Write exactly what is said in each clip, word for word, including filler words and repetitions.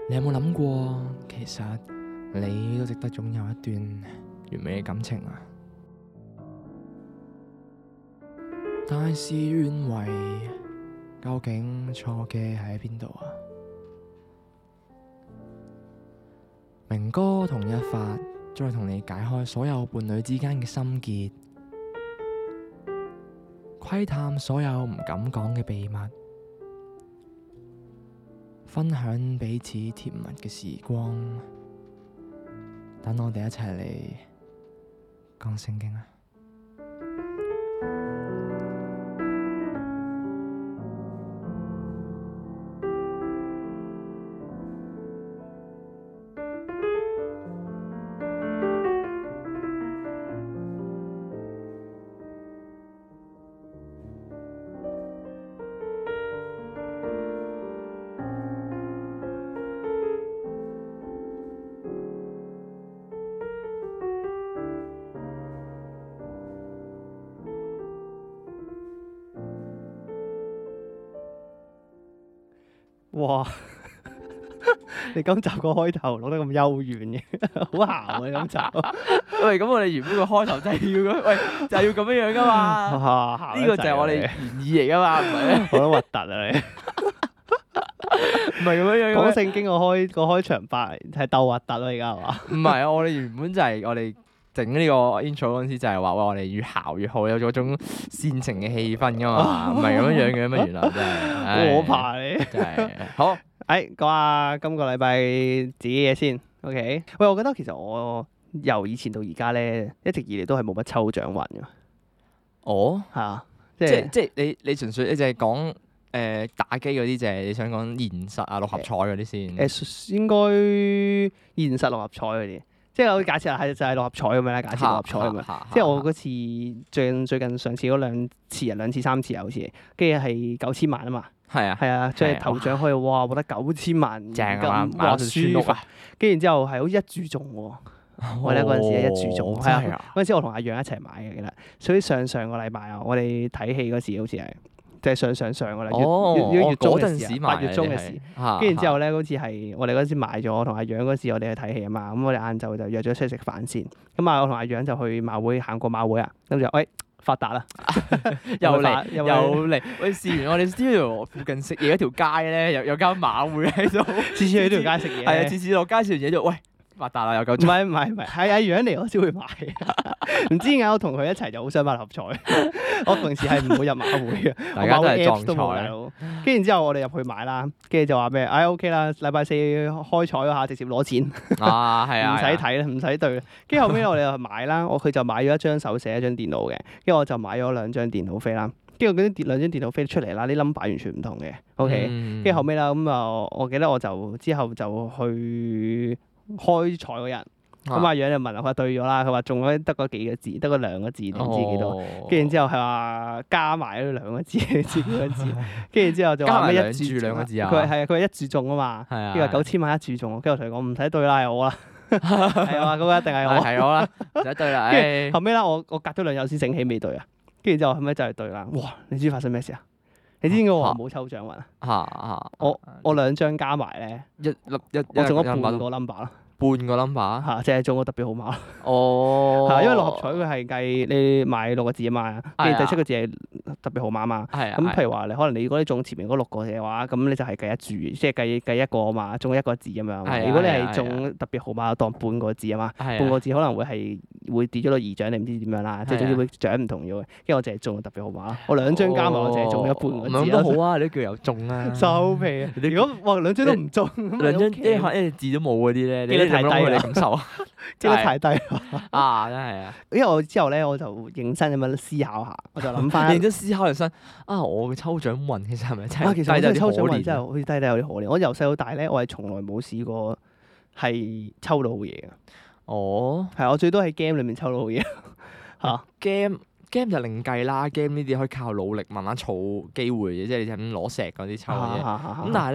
你有冇諗過，其實你都值得擁有一段完美嘅感情啊？但事與願違，究竟錯嘅喺邊度啊？明哥同一發再同你解開所有伴侶之間嘅心結，窺探所有唔敢講嘅秘密，分享彼此甜蜜嘅時光。等我哋一齊嚟講聖經啊！ 哇！你今集個開頭錄得咁幽怨嘅，好姣啊！今集喂，咁我哋原本個開頭真係要咁，喂，就係要咁樣樣噶嘛？呢個就係我哋原意嚟噶嘛，唔係咩？ 好得核突啊你！ 唔係咁樣樣。 講聖經個開個開場白係鬥核突咯，而家係嘛？ 唔係啊，我哋原本就係我哋整呢個 intro 嗰陣時就係話，喂，我哋越姣越好，有嗰種煽情嘅氣氛噶嘛，唔係咁樣樣嘅咩？原來真係， 我怕你真係好。 誒，講下今個禮拜自己嘢先。OK，喂，我覺得其實我由以前到而家咧，一直以嚟都係冇乜抽獎運嘅。 哦， 係啊， 即即係係即係你你純粹你就係講誒打機嗰啲，就係你想講現實啊六合彩嗰啲先。 誒應該現實六合彩嗰啲，即係我假設係就係六合彩咁樣啦，假設六合彩咁樣。即係我嗰次最近最近上次嗰兩次啊，兩次三次啊，好似跟住係九千萬啊嘛。 係啊， 係啊，即係頭獎可以哇，獲得九千萬正啊嘛， 咁買咗條村屋啊。 跟住然之後係好似一注中喎，我哋嗰陣時係一注中，係啊，嗰陣時我同阿楊一齊買嘅，記得。所以上上個禮拜啊，我哋睇戲嗰時好似係即係上上上個禮月月月中嘅時，八月中嘅時。跟住然之後咧，好似係我哋嗰陣時買咗，我同阿楊嗰時我哋去睇戲啊嘛，咁我哋晏晝就約咗出去食飯先。咁啊，我同阿楊就去馬會行過馬會啊，咁就喂。發達啦！ 又嚟又嚟，喂！試完我哋 studio 附近食嘢嗰條街咧，有有間馬會喺度， 次次去呢條街食嘢。 係啊，次次落街食完嘢就喂發達啦，又夠。 唔係唔係唔係，係阿楊嚟我先會買。唔知點解我同佢一齊就好想買六合彩。我平時係唔會入馬會嘅， 大家都係撞彩。跟住然之後我哋入去買啦，跟住就話咩？唉 OK 啦，禮拜四開彩嗰下直接攞錢。 啊，係啊， 唔使睇啦，唔使對啦。跟住後尾我哋就買啦，我佢就買咗一張手寫一張電腦嘅，跟住我就買咗兩張電腦飛啦。跟住嗰啲兩張電腦飛出嚟啦，啲 number 完全唔同嘅。OK，跟住後尾啦，咁啊，我記得我就之後就去開彩嗰日。咁阿楊就問佢話對咗啦，佢話中咗得嗰幾個字，得嗰兩個字，唔知幾多。跟住之後係話加埋嗰兩個字，唔知幾個字。跟住之後就話咩一注兩個字啊？佢係係啊，佢係一注中啊嘛。跟住話九千萬一注中，跟住我同佢講唔使對啦，係我啦。係啊，嗰個一定係我。 係我啦，唔使對啦。 跟住後尾啦，我我隔咗兩日先醒起未對啊。跟住之後後尾就係對啦。哇！你知發生咩事啊？你知唔知我冇抽獎運啊？ 嚇我我兩張加埋咧， 一粒一我中咗半個 number 咯。 半個 number 嚇，即係中個特別號碼。 哦， 係因為六合彩佢係計你買六個字啊嘛，跟住第七個字係特別號碼啊嘛。咁譬如話你可能你如果你中前面嗰六個嘅話，咁你就係計一注，即係計計一個啊嘛，中一個字咁樣。如果你係中特別號碼，當半個字啊嘛，半個字可能會係會跌咗到二獎，你唔知點樣啦，即係總之會獎唔同咗嘅。跟住我淨係中特別號碼，我兩張加埋我淨係中咗半個字。 咁都好啊，你都叫有中啊。 收皮啊！如果哇兩張都唔中， 兩張一一字都冇嗰啲咧，你太低啦， 你感受啊， 記得太低啊，真係啊！ 因為我之後咧，我就認真咁樣思考下，我就諗翻認真思考人生啊，我嘅抽獎運其實係咪真係啊？其實我真係抽獎運真係好好似低低有啲可憐。我由細到大咧，我係從來冇試過係抽到好嘢嘅。 哦， 係我最多喺 game 裏面抽到好嘢嚇。 game game 就另計啦，game 呢啲可以靠努力慢慢儲機會嘅，即係你就咁攞石嗰啲抽嘅啫。咁但係咧，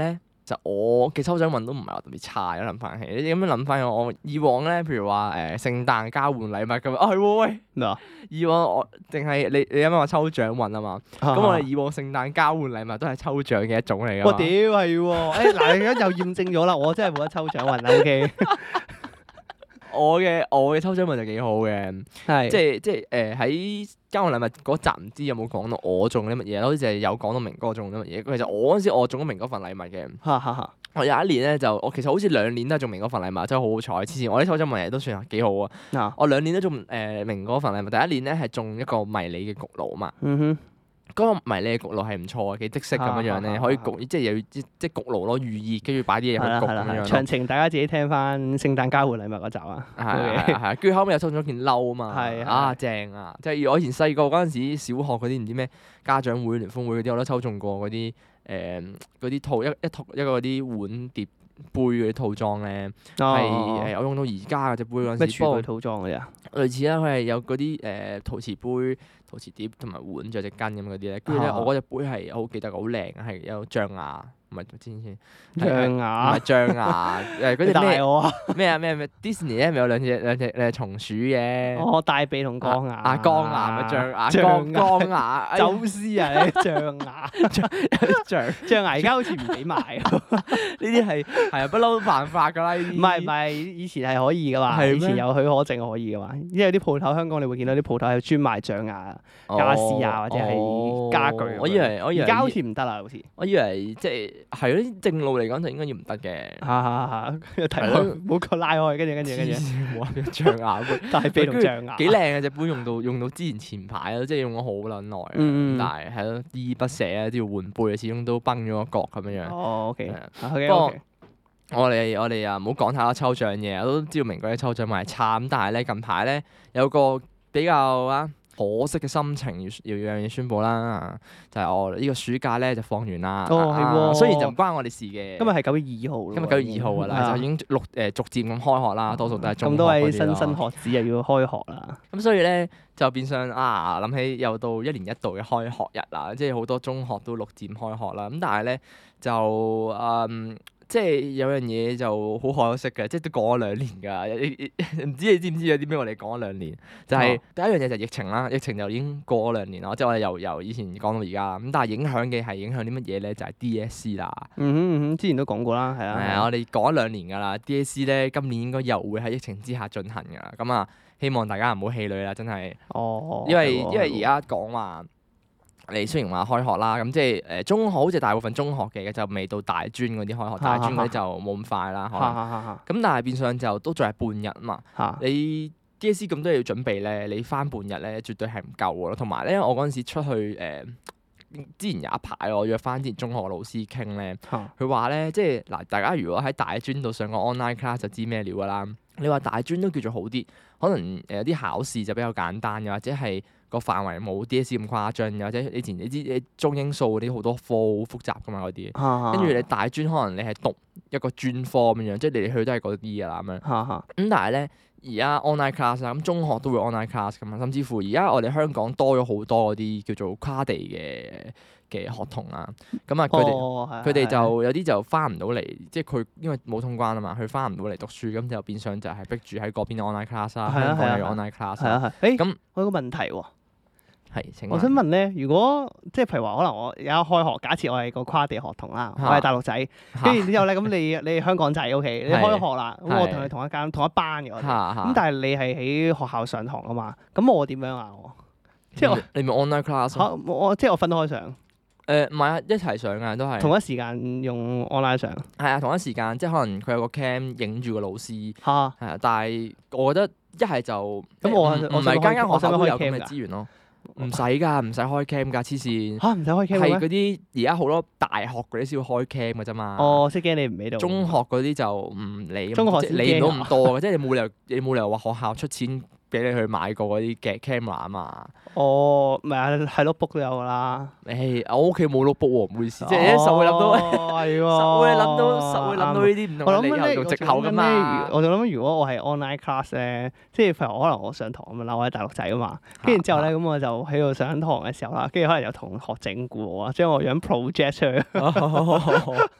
就我嘅抽獎運都唔係話特別差，諗翻起，你咁樣諗翻我以往咧，譬如話誒、呃、聖誕交換禮物咁啊，係喎喂， 咩啊？ 以往我淨係你你啱啱話抽獎運啊嘛，咁我哋以往聖誕交換禮物都係抽獎嘅一種嚟㗎嘛。 我屌係喎，誒嗱你而家又驗證咗啦，我真係冇得抽獎運啦，OK。 我嘅我嘅抽獎運就幾好嘅， 係即係即係誒喺交換禮物嗰集唔知有冇講到我中啲乜嘢，好似係有講到明哥中啲乜嘢。其實我嗰陣時我中咗明哥份禮物嘅。 哈哈哈。 我有一年咧就我其實好似兩年都係中明哥份禮物，真係好好彩。之前我啲抽獎運亦都算係幾好啊。 嗱， 我兩年都中誒、呃、明哥份禮物，第一年咧係中一個迷你嘅焗爐啊嘛。 嗯哼。 嗰個迷你嘅焗爐係唔錯嘅，幾即式咁樣樣咧，可以焗，即係又要即即焗爐咯，預熱，跟住擺啲嘢去焗咁樣樣。 詳情大家自己聽翻聖誕交換禮物嗰集啊。 係係係，跟住後尾又抽咗件褸啊嘛。係啊，正啊！即係我以前細個嗰陣時，小學嗰啲唔知咩家長會、聯歡會嗰啲，我都抽中過嗰啲誒嗰啲套一一套一個嗰啲碗碟杯嗰啲套裝咧，係誒我用到而家嘅隻杯嗰陣時。 咩廚具套裝嗰啲啊？ 類似啦，佢係有嗰啲誒陶瓷杯、陶瓷碟同埋碗，仲有隻羹咁嗰啲咧。跟住咧，我嗰隻杯係好記得，好靚，係有象牙，唔係之前先象牙， 唔係象牙誒嗰隻咩我啊咩啊咩咩 Disney 咧咪有兩隻兩隻誒松鼠嘅。 哦，大髀同鋼牙。 啊鋼牙咪象牙，鋼鋼牙。 走私啊！你象牙， 象象牙而家好似唔俾賣。 呢啲係係啊不嬲犯法㗎啦！呢啲唔係唔係，以前係可以㗎嘛，以前有許可證可以㗎嘛。因為有啲鋪頭香港你會見到啲鋪頭係專賣象牙傢俬啊，或者係家具。 我以為我以為而家好似唔得啦，好似。 我以為即係係咯，正路嚟講就應該要唔得嘅。 嚇嚇嚇！提開冇個拉開，跟住跟住跟住。 冇話象牙杯， 大髀同象牙。 幾靚嘅隻杯，用到用到之前前排咯，即係用咗好撚耐。 嗯但係係咯，依依不捨啊，都要換杯啊，始終都崩咗個角咁樣樣。 哦，OK。 不過我哋我哋啊，唔好講太多抽獎嘢，我都知道明哥啲抽獎運係差咁，但係咧近排咧有個比較啊可惜嘅心情要要樣嘢宣佈啦，就係、是、我呢個暑假咧就放完啦。 哦，係喎、 啊。雖然就唔關我哋事嘅。 今日係九月二號。 今日九月二號㗎啦，就已經陸誒逐漸咁開學啦，多數都係中學咁多位嗰啲新生咯學子又要開學啦。 咁所以咧就變相啊，諗起又到一年一度嘅開學日啦，即係好多中學都陸漸開學啦。咁但係咧就嗯。即係有樣嘢就好可惜嘅，即係都講咗兩年㗎。唔知你知唔知有啲咩我哋講咗兩年？就係、是、第一樣嘢就係疫情啦，疫情就已經過咗兩年啦。即係我哋由由以前講到而家咁，但係影響嘅係影響啲乜嘢咧？就係、是、D S C 啦。 嗯哼嗯哼，之前都講過啦，係啊。 係啊，我哋講咗兩年㗎啦。D S C 咧今年應該又會喺疫情之下進行㗎啦。咁啊，希望大家唔好氣餒啦，真係。 哦。 因為因為而家講話。你雖然話開學啦，咁即係誒中學好似大部分中學嘅就未到大專嗰啲開學，大專嗰啲就冇咁快啦。可能咁，但係變相就都仲係半日啊嘛。你 D S C 咁多嘢要準備咧，你翻半日咧絕對係唔夠嘅咯。同埋咧，我嗰陣時出去誒、呃，之前有一排我約翻之前中學嘅老師傾咧，佢話咧即係嗱，大家如果喺大專度上個 online class 就知咩料㗎啦。你話大專都叫做好啲，可能誒有啲考試就比較簡單，又或者係。個範圍冇 D S C 咁誇張，或者以前你知你中英數嗰啲好多科好複雜噶嘛嗰啲，跟住你大專可能你係讀一個專科咁樣，即係嚟嚟去都係嗰啲噶啦咁樣。咁但係咧，而家 online class 啦，咁中學都會 online class 噶嘛，甚至乎而家我哋香港多咗好多嗰啲叫做跨地嘅嘅學童啊，咁啊佢哋佢哋就有啲就翻唔到嚟，即係佢因為冇通關啊嘛，佢翻唔到嚟讀書，咁就變相就係逼住喺嗰邊 online class 啦，香港又 online class。係啊係。誒咁我有個問題喎。 係， 我想問咧，如果即係譬如話，可能我而家開學，假設我係個跨地學童啦，我係大陸仔，跟住之後咧，咁你你係香港仔 OK，你開學啦，咁我同你同一間同一班嘅，咁但係你係喺學校上堂啊嘛，咁我點樣啊？我即係我你咪 online class 我即係我分開上。 誒唔係啊，一齊上啊，都係同一時間用 online 上。 係啊，同一時間，即係可能佢有個 cam 影住個老師。 嚇。係啊，但係我覺得一係就咁我唔係間間學校都有咁嘅資源咯。唔使㗎，唔使開 cam 㗎，黐線嚇，唔使開 cam 係嗰啲而家好多大學嗰啲先會開 cam 㗎啫嘛。 哦，即係驚你唔喺度。中學嗰啲就唔理， 中學理唔到咁多嘅，即係你冇理由你冇理由話學校出錢俾你去買過嗰啲嘅 camera 啊嘛。 哦，咪係係 notebook 都有㗎啦。 誒，我屋企冇 notebook 喎，唔好意思，即係一實會諗到， 係喎， 實會諗到，實會諗到呢啲唔同嘅理由同藉口㗎嘛。 我就諗如果我係 online class 咧，即係譬如可能我上堂咁樣啦，我喺大陸仔啊嘛，跟住之後咧咁我就喺度上堂嘅時候啦，跟住可能有同學整蠱我啊，將我樣 project 出去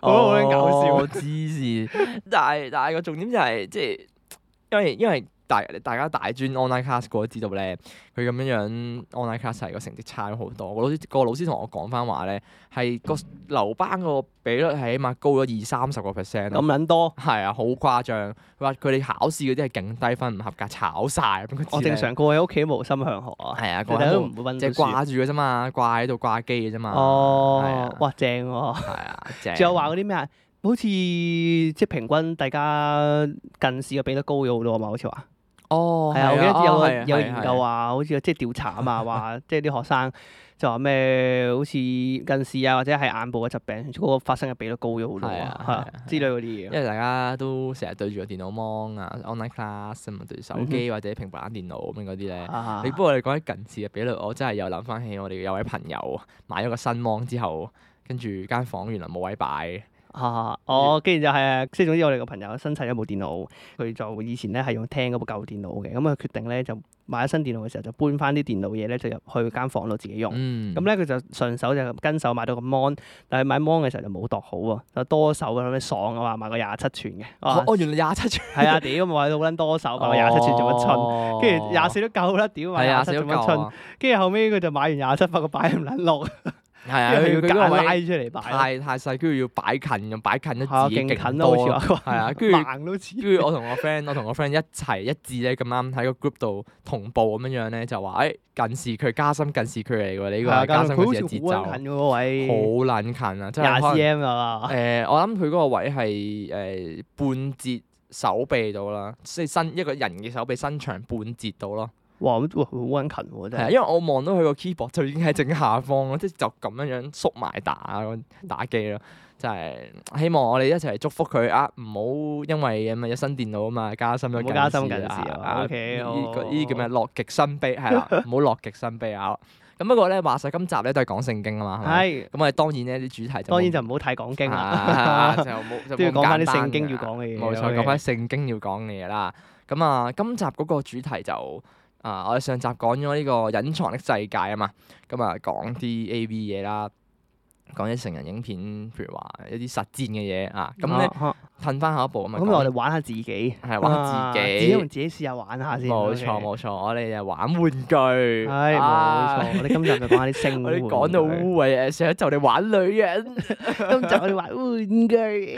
我覺得好撚搞笑。 黐線！但係但係個重點就係即係因為因為。大大家大專 online class 過都知道咧，佢咁樣樣 online class 係個成績差咗好多。個老師個老師同我講翻話咧，係個留班個比率係起碼高咗二三十個 percent。 咁撚多？ 係啊，好誇張。佢話佢哋考試嗰啲係勁低分唔合格，炒晒。咁我正常過喺屋企無心向學啊。 係啊， 佢哋都唔會温書。 即係掛住嘅啫嘛，掛喺度掛機嘅啫嘛。 哦，哇，正喎！ 係啊，正。 仲有話嗰啲咩啊？好似即係平均大家近視嘅比率高咗好多啊嘛，好似話。 哦， 係啊，我記得有個有個研究話，好似即係調查啊嘛，話即係啲學生就話咩，好似近視啊或者係眼部嘅疾病嗰個發生嘅比率高咗好多啊，係啊之類嗰啲嘢。 因為大家都成日對住個電腦 mon 啊 online class 啊嘛，對住手機或者平板電腦咁樣嗰啲咧。你不過你講起近視嘅比率，我真係又諗翻起我哋有位朋友買咗個新 mon 之後，跟住間房原來冇位擺。 啊！哦，跟住就係即係總之我哋個朋友新砌咗部電腦，佢就以前咧係用廳嗰部舊電腦嘅，咁佢決定咧就買咗新電腦嘅時候就搬翻啲電腦嘢咧就入去間房度自己用。咁咧佢就順手就跟手買到個 mon，但係買 mon 嘅時候就冇度好喎，就多手咁樣爽啊嘛，買個廿七寸嘅。 哦，原來廿七寸。 係啊，屌買到好撚多手，買個廿七寸做乜春？跟住廿四都夠啦，屌買廿七做乜春？跟住後尾佢就買完廿七，發覺擺唔撚落。 係啊， 佢要揀拉位出嚟擺， 太太細，跟住要擺近，又擺近得自己勁近多。 好似話係啊，跟住盲都似。 跟住我同我 friend，我同我 friend 一齊一致咧咁啱喺個 group 度同步咁樣樣咧，就話誒近視距加深近視距離喎，你呢個係加深近視嘅節奏。 好近嗰位， 好撚近啊！真係廿 cm 啊嘛。 誒，我諗佢嗰個位係誒半截手臂到啦，即係伸一個人嘅手臂伸長半截到咯。 哇！咁哇好撚近喎，真係。 係啊，因為我望到佢個 keyboard 就已經喺正下方咯，即係就咁樣樣縮埋打打機咯，真係希望我哋一齊祝福佢啊！唔好因為咁啊有新電腦啊嘛，加深咗近視。 加深近視啊 ！O K， 呢個呢啲叫咩？樂極生悲係啦，唔好樂極生悲啊！咁不過咧話晒今集咧都係講聖經啊嘛，係。咁我哋當然呢啲主題就當然就唔好太講經啦，就冇都要講翻啲聖經要講嘅嘢。 冇錯，講翻聖經要講嘅嘢啦。咁啊，今集嗰個主題就〜啊！我哋上集講咗呢個隱藏的世界啊嘛，咁啊講啲 A V 嘢啦，講啲成人影片，譬如話一啲實戰嘅嘢啊，咁咧褪翻下一步咁啊。 咁我哋玩下自己， 係玩下自己， 自己同自己試下玩下先。 冇錯冇錯，我哋就玩玩具。 係冇錯，我哋今集就講下啲性玩具。 我哋講到污穢，上一集我哋玩女人， 今集我哋玩玩具。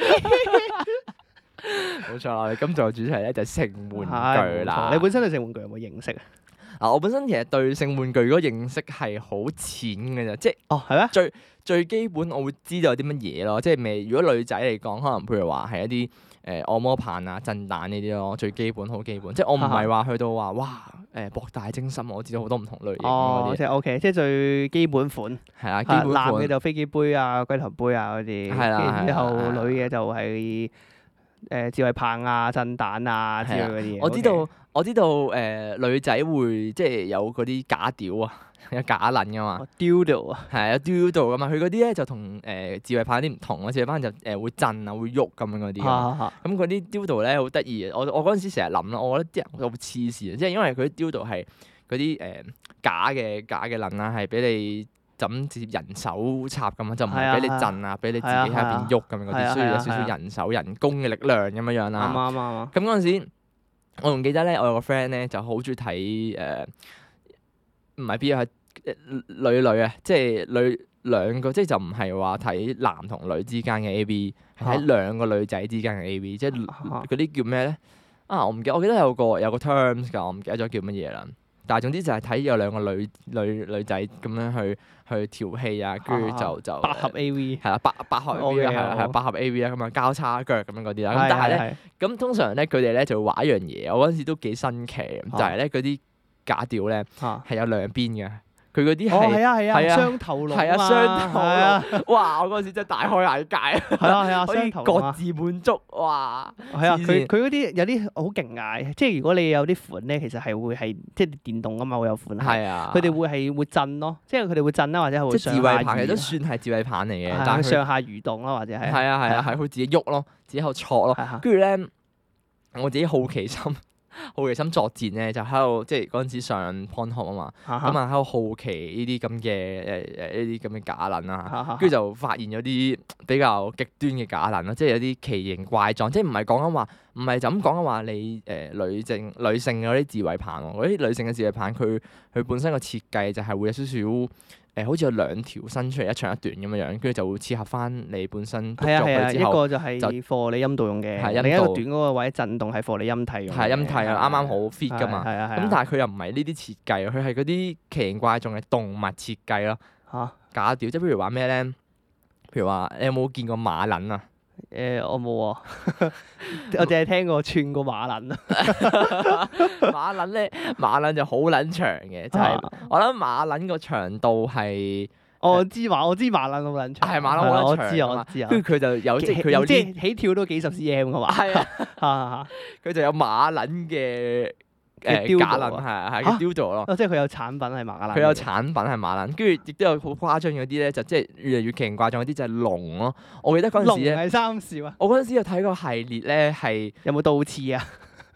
冇錯啦，我哋今集嘅主題咧就係性玩具啦。 你本身對性玩具有冇認識啊？ 嗱，我本身其實對性玩具嗰個認識係好淺嘅啫，即係哦係咩？ 最最基本我會知道有啲乜嘢咯，即係未。如果女仔嚟講，可能譬如話係一啲誒按摩棒啊、震蛋呢啲咯，最基本好基本。即係我唔係話去到話哇誒博大精深，我知道好多唔同類型嗰啲。 即係 OK，即係最基本款。 係啊，基本款。 男嘅就飛機杯啊、龜頭杯啊嗰啲。 係啦， 然之後女嘅就係。誒智慧棒啊、震蛋啊之類嗰啲嘢， 我知道我知道誒女仔會即係有嗰啲假屌啊，有假撚噶嘛。 dildo 啊， 係啊，dildo 噶嘛。佢嗰啲咧就同誒智慧棒有啲唔同咯。智慧棒就誒會震啊、會喐咁樣嗰啲。咁嗰啲 dildo 咧好得意嘅。我我嗰陣時成日諗咯，我覺得啲人好黐線，即係因為佢啲 dildo 係嗰啲誒假嘅假嘅撚啊，係俾你。咁直接人手插咁啊，就唔係俾你震啊，俾你自己喺入邊喐咁樣嗰啲，需要有少少人手人工嘅力量咁樣樣啦。 啱啱啱。 咁嗰陣時，我仲記得咧，我有個 friend 咧就好中意睇誒，唔係 B 係女女啊，即係女兩個，即係就唔係話睇男同女之間嘅 A V，係睇兩個女仔之間嘅 A V，即係嗰啲叫咩咧？啊，我唔記得，我記得有個有個 terms 㗎，我唔記得咗叫乜嘢啦。但係總之就係睇有兩個女女女仔咁樣去去調戲啊，跟住就就百合 A V 係啦，百百合 A V 係啦，係百合 A V 啊，咁啊交叉腳咁樣嗰啲啦。咁但係咧，咁通常咧佢哋咧就會玩一樣嘢，我嗰陣時都幾新奇，就係咧嗰啲假屌咧係有兩邊嘅。佢嗰啲係係啊係啊雙頭龍係啊雙頭龍，哇！我嗰陣時真係大開眼界， 係啊係啊， 可以各自滿足，哇！ 係啊，佢佢嗰啲有啲好勁㗎，即係如果你有啲款咧，其實係會係即係電動㗎嘛，會有款係啊，佢哋會係會震咯，即係佢哋會震啦，或者係會即係智慧棒，其實都算係智慧棒嚟嘅，但係上下蠕動啦，或者係係啊係啊係佢自己喐咯，自己喺度挫咯，跟住咧我自己好奇心。 好奇心作戰咧，就喺度即係嗰陣時上 Pornhub 啊嘛，咁啊喺度好奇呢啲咁嘅誒誒呢啲咁嘅假撚啦，跟住就發現咗啲比較極端嘅假撚啦，即係有啲奇形怪狀，即係唔係講緊話，唔係就咁講緊話你誒、呃、女性女性嗰啲自慰棒喎，嗰啲女性嘅自慰棒佢佢本身個設計就係會有少少。誒、呃、好似有兩條伸出嚟一長一短咁樣樣，跟住就會切合翻你本身篤咗佢之後， 一個就係貨你陰道用嘅，另一個短嗰個位震動係貨你陰蒂用嘅。係陰蒂啊，啱啱好 fit 噶嘛。咁但係佢又唔係呢啲設計，佢係嗰啲奇形怪狀嘅動物設計咯。嚇、啊！假屌，即係譬如話咩咧？譬如話你有冇見過馬撚啊？ 誒、呃，我冇啊，我淨係聽過串過馬撚啊。 馬撚咧，馬撚就好撚長嘅，就係、是、我諗馬撚個長度係。 我知馬，我知馬撚好撚長。 係馬撚好撚長。 我知啊，我知啊。 跟住佢就有即係佢有啲起跳都幾十 cm 噶嘛。係啊， 佢就有馬撚嘅。誒假撚係啊係，雕咗咯。 即係佢有產品係馬撚。 佢有產品係馬撚，跟住亦都有好誇張嗰啲咧，就即係越嚟越奇形怪狀嗰啲就係龍咯。我記得嗰陣時咧， 龍係三少啊。 我嗰陣時有睇個系列咧，係有冇倒刺啊？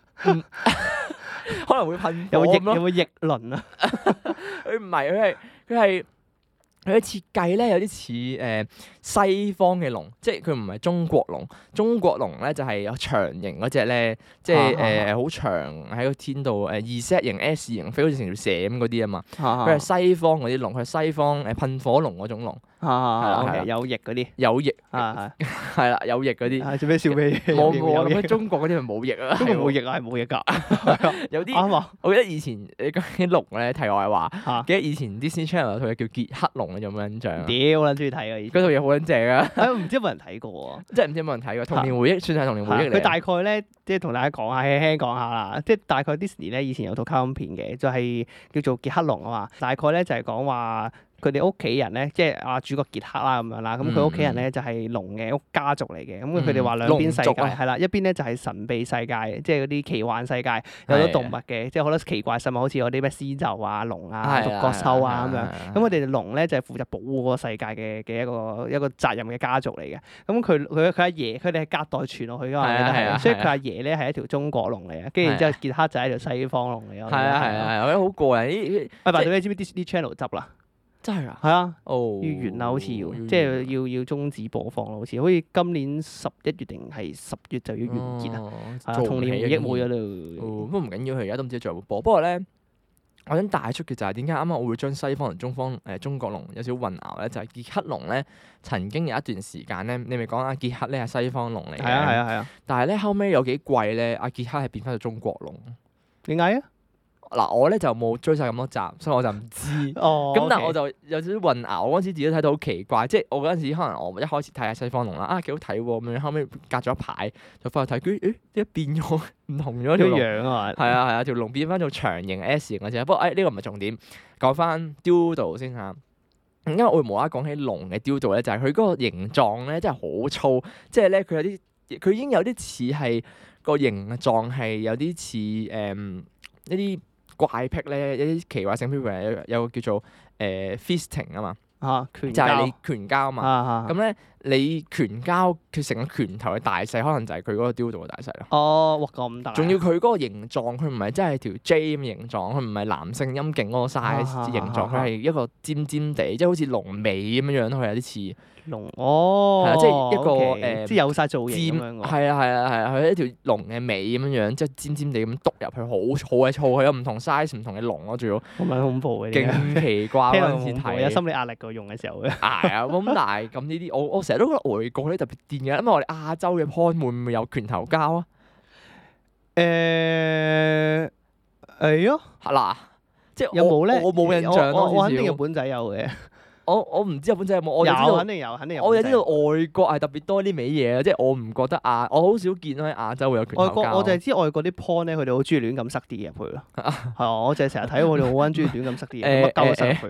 可能會噴有冇翼咯。 有冇翼輪啊？ 佢唔係，佢係佢係。佢嘅設計咧有啲似誒西方嘅龍，即係佢唔係中國龍。中國龍咧就係有長形嗰隻咧，即係誒好長喺個天度誒 Z 型 S 型飛好似成條蛇咁嗰啲啊嘛。佢係西方嗰啲龍，佢係西方誒噴火龍嗰種龍。係啦，有翼嗰啲。 有翼。 係係啦，有翼嗰啲。 做咩笑咩？ 冇冇，咁中國嗰啲係冇翼啊。 中國冇翼啊，係冇翼㗎。 有啲。我記得以前你講啲龍咧，題外話，記得以前 Disney Channel 有套嘢叫傑克龍。有冇印象？ 屌，我撚中意睇啊！ 嗰套嘢好撚正啊！ 唔知有冇人睇過喎？ 即係唔知有冇人睇過？童年回憶算係童年回憶嚟。 佢大概咧，即係同大家講下，輕輕講下啦。即係大概 Disney 咧，以前有套卡通片嘅，就係叫做傑克龍啊嘛。大概咧就係講話。佢哋屋企人咧，即係啊主角傑克啦咁樣啦，咁佢屋企人咧就係龍嘅屋家族嚟嘅，咁佢哋話兩邊世界係啦，一邊咧就係神秘世界，即係嗰啲奇幻世界，有好多動物嘅，即係好多奇怪生物，好似嗰啲咩獅鷲啊、龍啊、獨角獸啊咁樣。咁佢哋龍咧就係負責保護嗰個世界嘅嘅一個一個責任嘅家族嚟嘅。咁佢佢佢阿爺，佢哋係隔代傳落去㗎嘛，所以佢阿爺咧係一條中國龍嚟嘅，跟住然之後傑克就係一條西方龍嚟咯。係啊係啊， 我覺得好過癮。 喂，白你知唔知 Disney Channel 執啦？ 真係啊！ 係啊， 哦， 要完啦，好似要，即係要要終止播放啦，好似，好似今年十一月定係十月就要完結啦。童年回憶冇咗啦。 不過唔緊要，佢而家都唔知仲有冇播。不過咧，我想帶出嘅就係點解啱啱我會將西方同中方誒中國龍有少少混淆咧？就係傑克龍咧，曾經有一段時間咧，你咪講阿傑克咧係西方龍嚟嘅。係啊係啊係啊！ 但係咧後尾有幾季咧，阿傑克係變翻到中國龍。 點解啊？ 嗱，我咧就冇追晒咁多集，所以我就唔知。 哦。 咁但係我就有少少混淆。我嗰陣時自己睇到好奇怪，即係我嗰陣時可能我一開始睇下西方龍啦，啊幾好睇喎咁樣，後尾隔咗一排就翻去睇，佢誒點解變咗唔同咗條龍？ 樣啊！ 係啊係啊，條龍變翻做長形 S 型嘅啫。不過誒呢個唔係重點，講翻 Dildo 先嚇。因為我會無啦啦講起龍嘅 Dildo 咧，就係佢嗰個形狀咧真係好粗，即係咧佢有啲佢已經有啲似係個形狀係有啲似誒一啲。怪癖咧，一啲奇怪性，譬如有有個叫做誒、呃、fisting 啊嘛， 啊拳就係你拳交啊嘛，咁咧、啊、你拳交佢成個拳頭嘅大細，可能就係佢嗰個雕度嘅大細咯。 哦，哇咁大！ 仲要佢嗰個形狀，佢唔係真係條 J 咁形狀，佢唔係男性陰莖嗰個 size 形狀，佢係、啊啊、一個尖尖地，即係好似龍尾咁樣樣，佢有啲似。 龍哦， 係啊，即係一個誒 okay, 呃，即係有晒造型咁樣。 係啊係啊係啊，佢係一條龍嘅尾咁樣樣，即係尖尖地咁篤入去，好好鬼粗，佢有唔同 size 唔同嘅龍咯，仲要。好撚恐怖嘅。勁奇怪嗰陣時睇。有心理壓力㗎用嘅時候嘅。係啊，咁但係咁呢啲，我我成日都覺得外國咧特別癲嘅，因為我哋亞洲嘅 porn 會唔會有拳頭交啊？誒係啊，嗱，即係有冇咧？我冇印象咯， 我肯定日本仔有嘅。 我我唔知日本仔有冇，我就知道肯定有，肯定有。 我就知道外國係特別多啲味嘢，即係我唔覺得亞，我好少見到喺亞洲會有拳頭交。 外國我就係知外國啲 porn 咧，佢哋好中意亂咁塞啲嘢入去咯。係啊，我就係成日睇佢哋好撚中意亂咁塞啲嘢，乜鳩都塞入去㗎。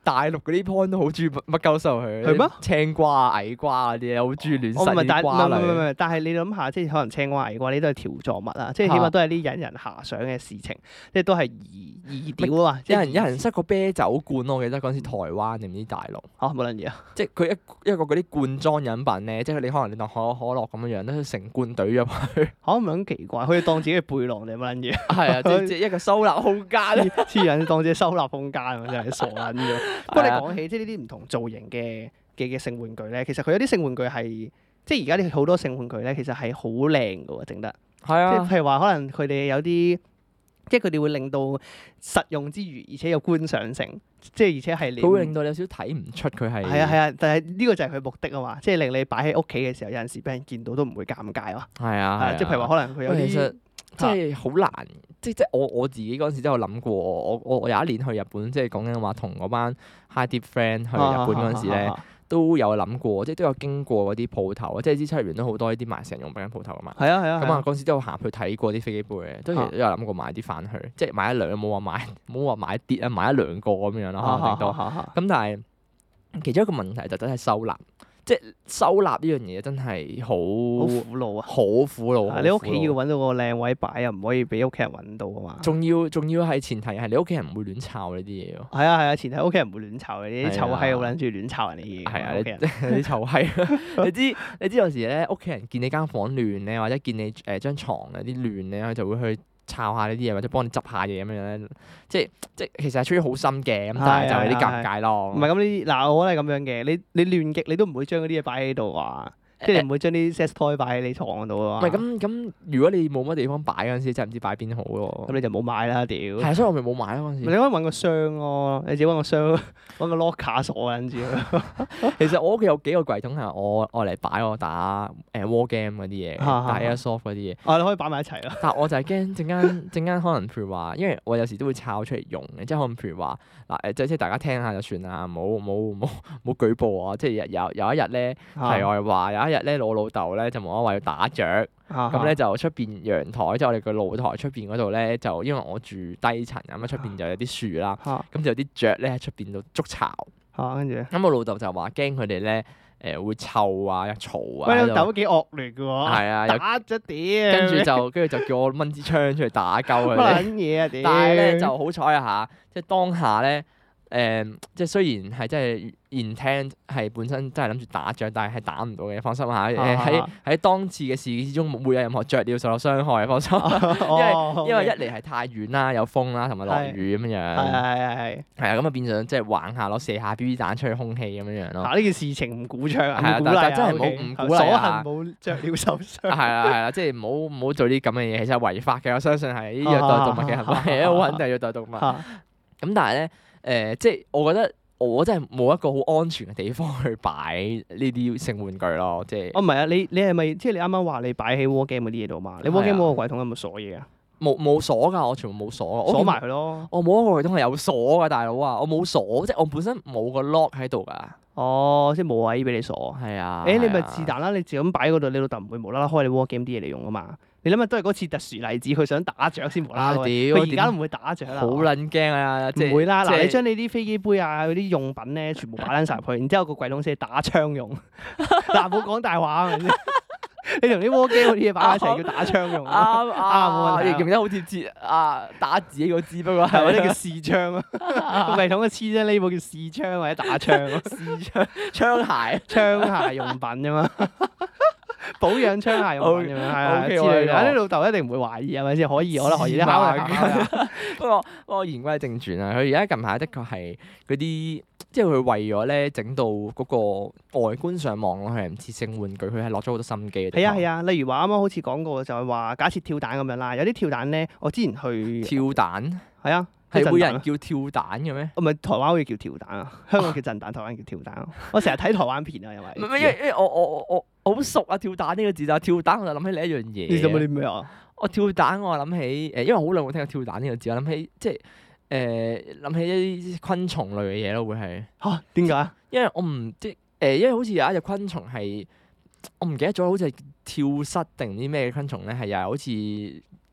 大陸嗰啲 porn 都好中意乜乜鳩收佢。 係咩？ 青瓜啊、矮瓜嗰啲咧，好中意亂我唔係， 塞但唔係唔啲瓜類。 係唔係，但係你諗下，即係可能青瓜矮瓜呢都係條狀物啊，即係起碼都係啲引人遐想嘅事情，即係都係易易屌啊嘛。 有人有人塞個啤酒罐，我記得嗰陣時台灣定唔知大陸。 嚇冇撚嘢啊！ 即係佢一一個嗰啲罐裝飲品咧，即係你可能你當可口可樂咁樣樣，都成罐懟入去。 嚇唔係咁奇怪，佢哋當自己嘅背囊定乜撚嘢？ 係啊，即即係一個收納空間。 黐黐人當自己收納空間啊！真係傻撚咗。不過你講起即係呢啲唔同造型嘅嘅嘅性玩具咧，其實佢有啲性玩具係即係而家啲好多性玩具咧，其實係好靚㗎喎，整得。 係啊。 即係譬如話，可能佢哋有啲。即係佢哋會令到實用之餘，而且有觀賞性，即係而且係你佢會令到你有少少睇唔出佢係。 係啊係啊，但係呢個就係佢目的啊嘛，即係令你擺喺屋企嘅時候，有陣時俾人見到都唔會尷尬啊。 係啊，係啊。 即係譬如話，可能佢有啲其實即係好難，即即我我自己嗰陣時都有諗過，我我我有一年去日本，即係講緊話同嗰班 high deep friend 去日本嗰陣時咧。都有諗過，即係都有經過嗰啲鋪頭，即係啲七入邊都好多呢啲賣成用品嘅鋪頭啊嘛。 係啊係啊。 咁啊嗰陣時都有行去睇過啲飛機杯嘅，都其實都有諗過買啲翻去，即係買一兩，冇話買冇話買一啲啊，買一兩個咁樣咯，可能頂多。咁但係其中一個問題就真係收納，即係收納呢樣嘢真係好好苦惱啊！ 好苦惱。 你屋企要揾到個靚位擺，又唔可以俾屋企人揾到啊嘛。 仲要仲要係前提係你屋企人唔會亂摷呢啲嘢咯。 係啊係啊，前提屋企人唔會亂摷嘅，啲臭閪好撚中意亂摷人哋嘢。 係啊，你啲臭閪，你知你知有時咧屋企人見你間房亂咧，或者見你誒張牀有啲亂咧，佢就會去摷下呢啲嘢，或者幫你執下嘢咁樣咧。即係即係其實係出於好心嘅，咁但係就係啲尷尬咯。 唔係咁呢啲嗱，我覺得係咁樣嘅。你你亂極你都唔會將嗰啲嘢擺喺度啊。即係你唔會將啲 sex toy 擺喺你床嗰度啊嘛。 唔係咁咁，如果你冇乜地方擺嗰陣時，真係唔知擺邊好喎。 咁你就冇買啦，屌！ 係，所以我咪冇買咯嗰陣時。 你可以揾個箱咯，你自己揾個箱，揾個 locker 鎖跟住。 其實我屋企有幾個櫃桶係我愛嚟擺我打誒 war game 嗰啲嘢，打 airsoft 嗰啲嘢。 啊，你可以擺埋一齊咯。 但係我就係驚陣間陣間可能譬如話，因為我有時都會抄出嚟用嘅，即係可能譬如話嗱誒，即係即係大家聽下就算啦，冇冇冇冇舉報啊！即係有有一日咧，題外話，有一日咧，我老豆咧就無啦啦話要打雀，咁咧就出邊陽台，即係我哋個露台出邊嗰度咧，就因為我住低層咁啊，出邊就有啲樹啦，咁就有啲雀咧喺出邊度築巢， 跟住咁我老豆就話驚佢哋咧誒會臭啊、嘈啊。 喂，你老豆都幾惡劣嘅喎。 係啊， 打咗屌。 跟住就跟住就叫我掹支槍出嚟打鳩佢哋。 乜撚嘢啊屌！ 但係咧就好彩啊嚇，即係當下咧。誒、嗯，即係雖然係真係 intent 係本身真係諗住打雀，但係係打唔到嘅，放心下。誒喺喺當次嘅事件之中，冇有任何雀鳥受到傷害，放心。因為、哦、因為一嚟係太遠啦，有風啦，同埋落雨咁樣樣。係係係係。係啊，咁啊變相即係玩下攞射下 B B 彈出去空氣咁樣樣咯。呢件事情唔鼓倡啊， 係啊，但係真係冇唔鼓勵啊。 所幸冇雀鳥受傷。 係啦係啦，即係唔好唔好做啲咁嘅嘢，其實係違法嘅。我相信係呢啲虐待動物嘅行為，好肯定虐待動物。咁但係咧。誒、呃，即係我覺得我真係冇一個好安全嘅地方去擺呢啲性玩具咯，即係。哦，唔係啊，你你係咪即係你啱啱話你擺喺 war game 嗰啲嘢度嘛？你 war game 嗰個櫃桶有冇鎖嘢啊？冇冇鎖㗎，我全部冇鎖。鎖埋佢咯。我冇一個櫃桶係有鎖㗎，大佬啊！我冇鎖，即係我本身冇個 lock 喺度㗎。哦，即係冇位俾你鎖。係啊。誒、欸，你咪是但啦，你自咁擺嗰度，你老豆唔會無啦啦開你 war game 啲嘢嚟用啊嘛。你諗下都係嗰次特殊例子，佢想打雀先無啦啦，佢而家都唔會打雀啦。好撚驚啊！唔會啦，嗱，你將你啲飛機杯啊嗰啲用品咧，全部擺撚晒入去，然之後個櫃桶先打槍用。嗱，冇講大話係咪先？你同啲 war game 嗰啲嘢擺埋一齊叫打槍用。啱啱，你用得好貼切啊！打自己個字，不過係嗰啲叫試槍啊。個櫃桶嘅黐啫，呢部叫試槍或者打槍。試槍槍械槍械用品啫嘛。保養槍械用品咁樣係啊之類嘅，啲老豆一定唔會懷疑係咪先？可以，我覺得可以。不過不過言歸正傳啊，佢而家近排的確係嗰啲，即係佢為咗咧整到嗰個外觀上望落去係唔似性玩具，佢係落咗好多心機嘅。係啊係啊，例如話啱啱好似講過就係話，假設跳蛋咁樣啦，有啲跳蛋咧，我之前去跳蛋係啊。係會有人叫跳蛋嘅咩？唔係台灣會叫跳蛋啊，香港叫震蛋，台灣叫跳蛋啊。我成日睇台灣片啊，因為唔係因為因為我我我我好熟啊，跳蛋呢個字，但係跳蛋我就諗起另一樣嘢。你諗起啲咩啊？我跳蛋我諗起誒，因為好耐冇聽過跳蛋呢個字，我諗起即係誒諗起一啲昆蟲類嘅嘢咯，會係嚇點解？因為我唔即係誒，因為好似有一隻昆蟲係我唔記得咗，好似係跳蚤定唔知咩昆蟲咧，係又係好似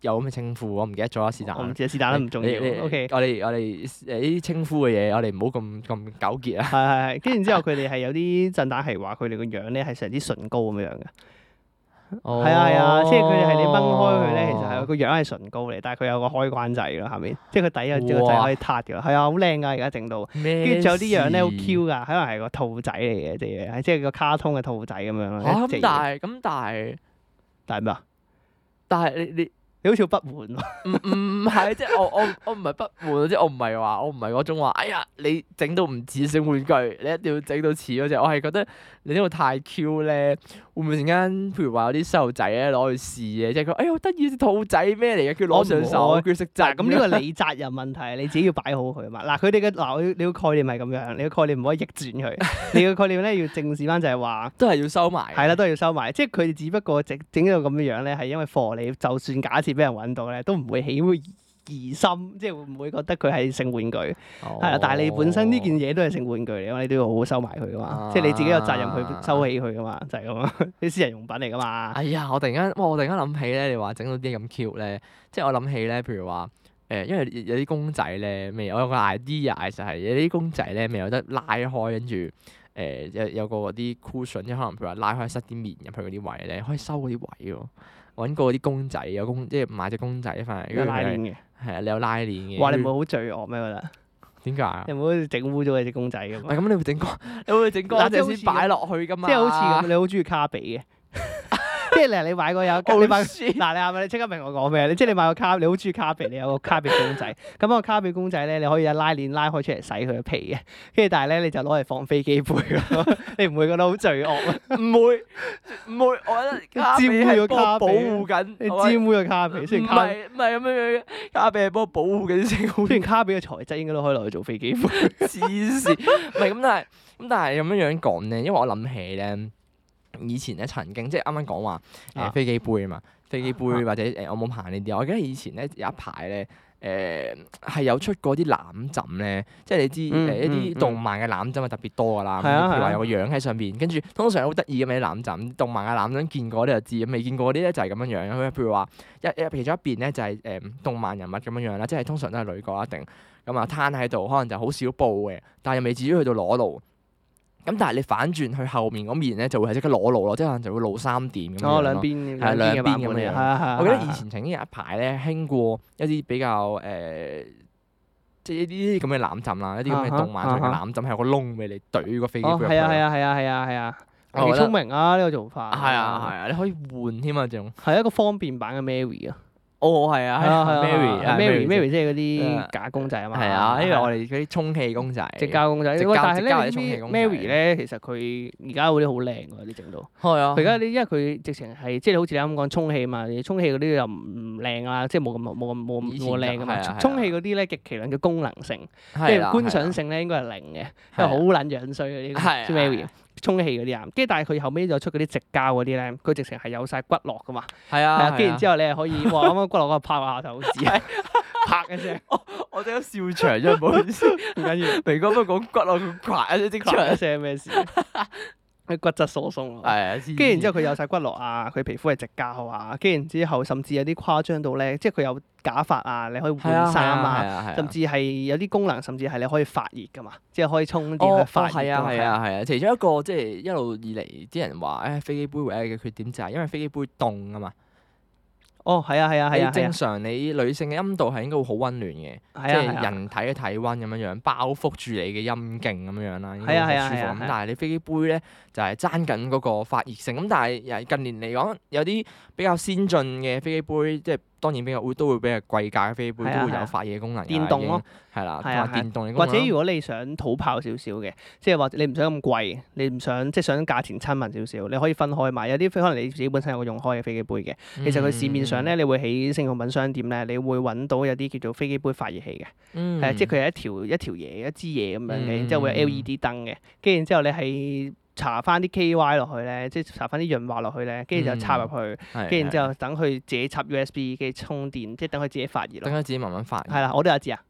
有咁嘅稱呼，我唔記得咗啦，是但。 我唔知，是但都唔重要。O K， 我哋我哋誒呢啲稱呼嘅嘢，我哋唔好咁咁糾結啊。 係係係，跟住之後佢哋係有啲震蛋係話佢哋個樣咧係成啲唇膏咁樣嘅。 哦， 係啊係啊，即係佢哋係你掹開佢咧，其實係個樣係唇膏嚟，但係佢有個開關掣咯，下面即係佢底有隻個掣可以撻嘅咯。係啊，好靚㗎，而家整到。跟住仲有啲樣咧好 Q 㗎，可能係個兔仔嚟嘅隻嘢，即係個卡通嘅兔仔咁樣咯。 嚇咁但係咁但係但係咩啊？ 但係你你。 你好似好不滿喎。 唔唔係，即係我我我唔係不滿，即係我唔係話我唔係嗰種話，哎呀你整到唔似性玩具，你一定要整到似嗰隻。我係覺得你呢個太 Q 咧，會唔會陣間譬如話有啲細路仔咧攞去試嘅，即係佢哎呀好得意隻兔仔咩嚟嘅，叫攞上手，叫識扎。 咁呢個你責任問題，你自己要擺好佢啊嘛。嗱，佢哋嘅嗱，你個概念係咁樣，你個概念唔可以逆轉佢。你個概念咧要正視翻就係話， 都係要收埋。 係啦，都係要收埋。即係佢哋只不過整整到咁樣樣咧，係因為貨你，就算假設俾人揾到咧，都唔會起疑心，即係會唔會覺得佢係性玩具？係啦、哦，但係你本身呢件嘢都係性玩具嚟，你都要好好收埋佢噶嘛。啊、即係你自己有責任去收起佢噶嘛，就係咁啊！啲私人用品嚟噶嘛。哎呀，我突然間，哇！我突然間諗起咧，你話整到啲咁 cute 咧，即係我諗起咧，譬如話誒、呃，因為有啲公仔咧，未我有個 idea 就係有啲公仔咧未有得拉開，跟住誒有有個嗰啲 cushion，即係可能譬如話拉開塞啲棉入去嗰啲位咧，可以收嗰啲位喎。揾過啲公仔，有公即係買隻公仔翻嚟， 有拉鏈嘅， 係啊，你有拉鏈嘅。 哇！你唔會好罪惡咩？我覺得點解啊？ 你唔會整污咗你隻公仔㗎嘛？ 咁你會整乾，你會整乾淨先擺落去㗎嘛？ 即係好似咁，你好中意卡比嘅。即係例如你買個有，你買嗱你係咪你即刻明我講咩？你即係你買個卡，你好中意卡比，你有個卡比公仔。咁個卡比公仔咧，你可以有拉鏈拉開出嚟洗佢嘅皮嘅。跟住但係咧，你就攞嚟放飛機杯咯。你唔會覺得好罪惡啊？ 唔會唔會，我覺得卡比係幫我保護緊。 你沾污咗卡比，雖然卡比唔係咁樣樣，卡比係幫我保護緊先。 雖然卡比嘅材質應該都可以攞嚟做飛機杯。 黐線，唔係咁，但係咁但係咁樣樣講咧，因為我諗起咧。以前咧曾經即係啱啱講話誒飛機杯啊嘛，飛機杯或者誒我冇行呢啲，我記得以前咧有一排咧誒係有出過啲攬枕咧，即係你知誒、嗯、一啲動漫嘅攬枕係特別多噶啦，譬如話有個樣喺上邊，跟住通常好得意嘅啲攬枕，動漫嘅攬枕見過你就知，未見過嗰啲咧就係咁樣樣。佢譬如話一一其中一邊咧就係誒動漫人物咁樣樣啦，即係通常都係女角一定咁啊攤喺度，可能就好少布嘅，但係又未至於去到裸露。咁但係你反轉去後面嗰面咧，就會係即刻裸露咯，即係可能就會露三點咁樣咯。 哦，兩邊係兩邊咁樣。 係啊係啊。 我記得以前曾經有一排咧興過一啲比較誒、呃，即係呢啲咁嘅攬枕啦，一啲咁嘅動漫上嘅攬枕係有個窿俾你懟個飛機杯入去。 係啊係啊係啊係啊係啊！幾聰明啊呢個做法。 係啊係啊，你可以換添啊仲。 係一個方便版嘅 Mary 啊。 哦，係啊，係啊 ，Mary，Mary，Mary 即係嗰啲假公仔啊嘛。 係啊，因為我哋嗰啲充氣公仔。 直膠公仔。 直膠但係咧，Mary 咧，其實佢而家嗰啲好靚㗎，啲整到。係啊。佢而家啲，因為佢直情係即係好似你啱啱講充氣嘛，充氣嗰啲又唔靚啦，即係冇咁冇咁冇咁冇靚㗎嘛。充氣嗰啲咧極其量嘅功能性，即係觀賞性咧應該係零嘅，因為好撚樣衰嗰啲 Mary。充氣嗰啲啊，跟住但係佢後尾就出嗰啲直膠嗰啲咧，佢直情係有晒骨骼噶嘛。係啊，跟住然之後你係可以，哇！啱啱骨骼嗰個拍下頭指，拍一聲，我我即刻笑場咗，唔好意思，唔緊要。明哥不過講骨骼，佢啪一聲即場一聲咩事？啲骨質疏鬆咯，係啊，跟住然之後佢有晒骨骼啊，佢皮膚係直膠啊，跟住然之後甚至有啲誇張到咧，即係佢有假髮啊，你可以換衫啊，甚至係有啲功能，甚至係你可以發熱噶嘛，即係可以充電去發熱。係啊係啊係啊，其中一個即係一路以嚟啲人話誒飛機杯唯一嘅缺點就係因為飛機杯凍啊嘛。哦，係啊係啊係啊！正常你女性嘅陰道係應該會好溫暖嘅，即係人體嘅體溫咁樣樣包覆住你嘅陰莖咁樣樣啦，應該好舒服。咁但係你飛機杯咧就係爭緊嗰個發熱性。咁但係近年嚟講，有啲比較先進嘅飛機杯，即係當然比較會都會比較貴價嘅飛機杯都會有發熱功能。電動咯，係啦，同埋電動嘅功能。或者如果你想土炮少少嘅，即係或者你唔想咁貴，你唔想即係想價錢親民少少，你可以分開買。有啲可能你自己本身有個用開嘅飛機杯嘅，其實佢市面上咧，你會喺性用品商店咧，你會揾到有啲叫做飛機杯發熱器嘅，係即係佢係一條一條嘢一支嘢咁樣嘅，然之後會有 L E D 燈嘅，跟住然之後你係搽翻啲 K Y 落去咧，即係搽翻啲潤滑落去咧，跟住就插入去，跟住然之後等佢自己插 U S B 嘅充電，即係等佢自己發熱咯。等佢自己慢慢發熱。係啦，我都有一支啊。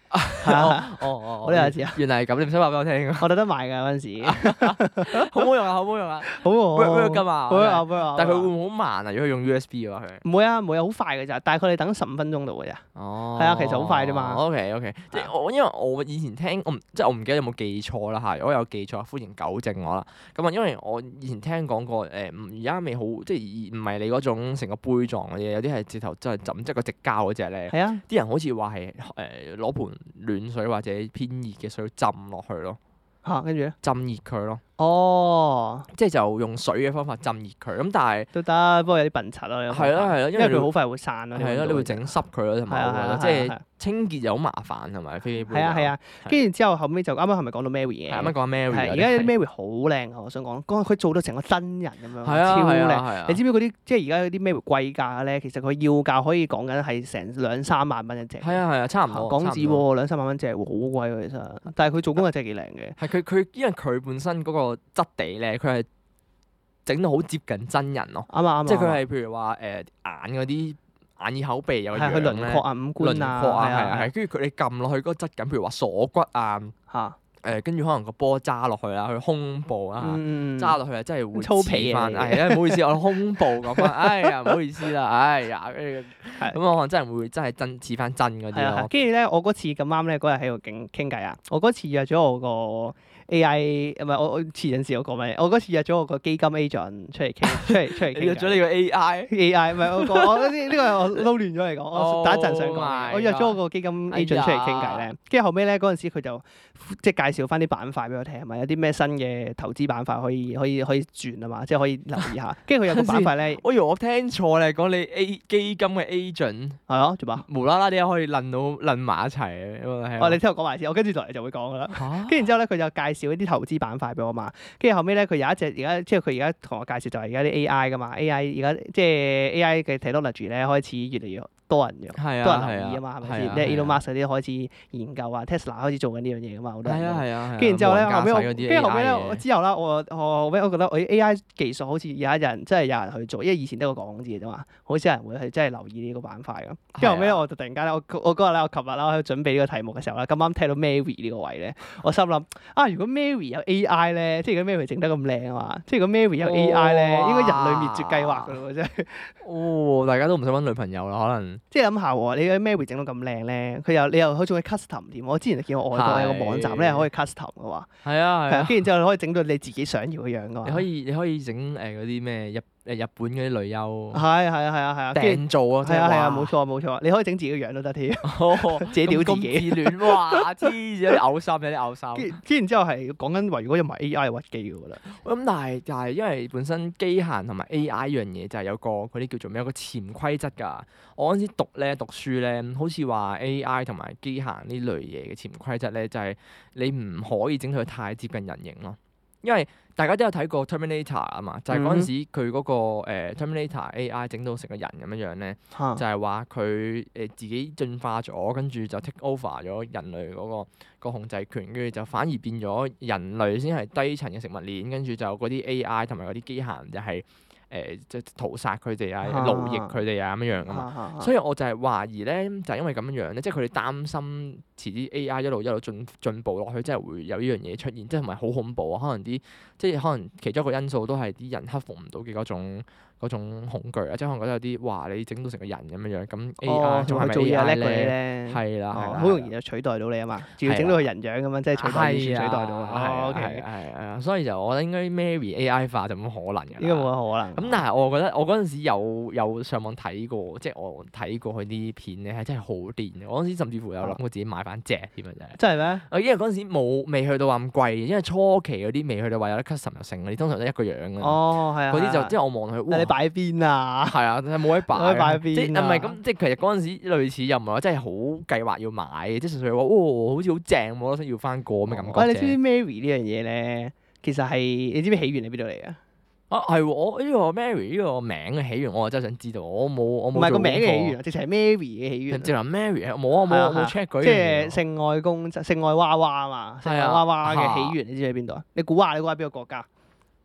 係啊， 哦哦， 我都有一次啊， 原嚟係咁，你唔使話俾我聽啊！ 我特登買㗎嗰陣時， 好唔好用啊？好唔好用啊好 ？work work 喎， 㗎嘛？ work 啊 work 啊， 但係佢會唔會好慢啊？如果佢用 U S B 嘅話，佢唔會啊，唔會啊，好快㗎咋，但係佢哋等十五分鐘度㗎咋。 哦， 係啊，其實好快啫嘛。 O K O K，即係我因為我以前聽我唔即係我唔記得有冇記錯啦嚇，如果有記錯歡迎糾正我啦。咁啊，因為我以前聽講過誒，而家未好即係唔係你嗰種成個杯狀嘅嘢，有啲係直頭真係浸即係個直膠嗰隻咧。 係啊， 啲人好似話係誒攞盆暖水或者偏熱嘅水浸落去咯， 嚇，跟住咧， 浸熱佢咯， 哦， 即係就用水嘅方法浸熱佢。咁但係都得，不過有啲笨柒咯。呢個係咯係咯，因為你因為佢好快會散咯。 係咯，你會整濕佢咯，同埋我覺得即係清潔又好麻煩，同埋飛機杯。 係啊係啊，跟住之後後尾就啱啱係咪講到 Mary 嘅？ 係啱啱講 Mary 係而家有啲 Mary 好靚啊！我想講，講佢做到成個真人咁樣， 係啊超係啊係靚。 啊你知唔知嗰啲即係而家嗰啲 Mary 貴價咧？其實佢要價可以講緊係成兩三萬蚊一隻。 係啊係啊，差唔多港紙差唔多喎，兩三萬蚊隻喎，好貴喎其實。但係佢做工係真係幾靚嘅。 係佢佢因為佢本身嗰個質地咧，佢係整到好接近真人咯。 啱啊啱啊！ 即係佢係譬如話誒眼嗰啲眼耳口鼻有個樣係佢輪咧廓啊、五官啊， 輪廓啊，係啊係係，跟住佢你撳落去嗰個質感，譬如話鎖骨啊， 嚇， 誒跟住可能個波揸落去啦，佢胸部啊， 嗯揸落去啊，真係會粗皮翻。 啊係啊，唔好意思，我胸部講翻，哎呀唔好意思啦，哎呀，跟住咁我可能真係會真係真似翻真嗰係啊， 啲咯。 跟住咧，我嗰次咁啱咧，嗰日喺度傾傾偈啊，我嗰次約咗我個 A I，唔係我我前陣時我講咩？我嗰次約咗我個基金 agent 出嚟傾，出嚟出嚟傾偈。 你約咗你個 A I A I 唔係我講，我呢呢個係我撈亂咗嚟講，我等一陣想 Oh 講 my 嘅。我約咗我個基金 agent 出嚟傾偈咧，跟住後尾咧嗰陣時佢就即係介紹翻啲板塊俾我聽，係咪有啲咩新嘅投資板塊可以可以可以轉啊嘛，即係可以留意下。跟住佢有個板塊咧， 我以為我聽錯咧，講你 A 基金嘅 agent 係啊，做乜？ 無啦啦啲可以撚到撚埋一齊嘅， 哦，你聽我講埋先，我跟住落嚟就會講噶啦。 嚇跟住之後咧，佢就介紹一啲投資板塊俾我嘛。跟住後尾咧，佢有一隻而家即係佢而家同我介紹就係而家啲 A I 噶嘛，A I 而家即係 A I 嘅 technology 咧開始越嚟越多人用， 係啊多人留意啊嘛，係咪先？ 係啊即係 Elon 係啊 Musk 嗰啲開始研究啊，Tesla 開始做緊呢樣嘢噶嘛，好多人係都啊係啊， 跟住之後咧，後尾我跟跟住後尾咧，我之後啦，我我後尾我覺得我啲 A I 技術好似有一人真係有人去做，因為以前得個講字嘅啫嘛，好少人會去真係留意呢個板塊咁。跟住後尾咧，我就突然間咧，我我嗰日咧，我琴日啦，我喺度準備呢個題目嘅時候咧，咁啱聽到 Mary 呢個位咧，我心諗啊，如果 Mary 有 A I 咧，即係如果 Mary 整得咁靚啊嘛，即係如果 Mary 有 A I 咧，應該人類滅絕計劃噶咯喎，真係。 哦，大家都唔想揾女朋友啦，可能即係諗下喎，你嘅 Mary 整到咁靚咧，佢又你又佢仲可以 custom 添。我之前就見過外國有個網站咧，可以 custom 嘅喎。 係啊係啊， 係啊，跟住之後你可以整到你自己想要嘅樣噶嘛。 你可以你可以整誒嗰啲咩日誒日本嗰啲女優係係啊係啊係啊，跟住訂做啊， 係啊係啊， 哇冇錯冇錯，你可以整自己嘅樣都得添， 哦自己屌自咁己。 自戀哇，黐線有啲嘔心有啲嘔心。 跟跟然之後係講緊話，如果有埋 A I 係屈機嘅喎啦。 咁但係但係因為本身機械同埋 A I 呢樣嘢就係有個嗰啲叫做咩有個潛規則㗎。我嗰陣時讀咧讀書咧，好似話 A I 同埋機械呢類嘢嘅潛規則咧，就係你唔可以整到佢太接近人形咯。因為大家都有睇過 Terminator 啊嘛，就係嗰陣時佢嗰個誒 Terminator A I 整到成個人咁樣樣咧，就係話佢誒自己進化咗，跟住就 take over 咗人類嗰個個控制權，跟住就反而變咗人類先係低層嘅食物鏈，跟住就嗰啲 A I 同埋嗰啲機械人就係誒即係屠殺佢哋啊、奴役佢哋啊咁樣樣噶嘛。所以我就係懷疑咧，就係因為咁樣樣咧，即係佢哋擔心遲啲 A I 一路一路進進步落去，即係會有呢樣嘢出現，即係同埋好恐怖啊！可能啲即係可能其中一個因素都係啲人克服唔到嘅嗰種嗰種恐懼啊！即係可能覺得有啲哇，你整到成個人咁樣樣，咁 A I 仲係咪 A I 咧？係啦，係啦， 好容易就取代到你啊嘛！仲要整到佢人樣咁樣，即係取代完全取代到啊！ 係 OK， 係係啊，所以就我覺得應該 Mary A I 化就冇可能㗎啦。 應該冇乜可能。 咁但係我覺得我嗰陣時有有上網睇過，即係我睇過佢啲片咧係真係好癲嘅。我嗰陣時甚至乎有諗過自己買翻隻添啊！真係。 真係咩？ 因為嗰陣時冇未去到話咁貴，因為初期嗰啲未去到話有得 custom 又成，你通常都一個樣嘅。 哦，係啊。 嗰啲就即係我望落去，哇！ 你擺喺邊啊？ 係啊，冇位擺。 冇位擺喺邊啊？ 即係唔係咁？即係其實嗰陣時類似又唔係話真係好計劃要買嘅，即係純粹話，哦，好似好正，我都想要翻個咁嘅感覺啫。 喂，你知唔知 Mary 呢樣嘢咧？其實係你知唔知起源喺邊度嚟啊？ 啊，係喎！我呢個 Mary 呢個名嘅起源，我真係想知道。我冇我冇。 唔係個名嘅起源啊，直情係 Mary 嘅起源。 直情 Mary 冇啊冇啊冇 check 過。 即係性愛公性愛娃娃啊嘛，性愛娃娃嘅起源你知喺邊度啊？你估下，你估下邊個國家？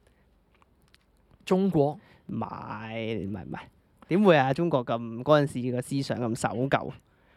中國？ 唔係唔係唔係，點會啊？中國咁嗰陣時個思想咁守舊。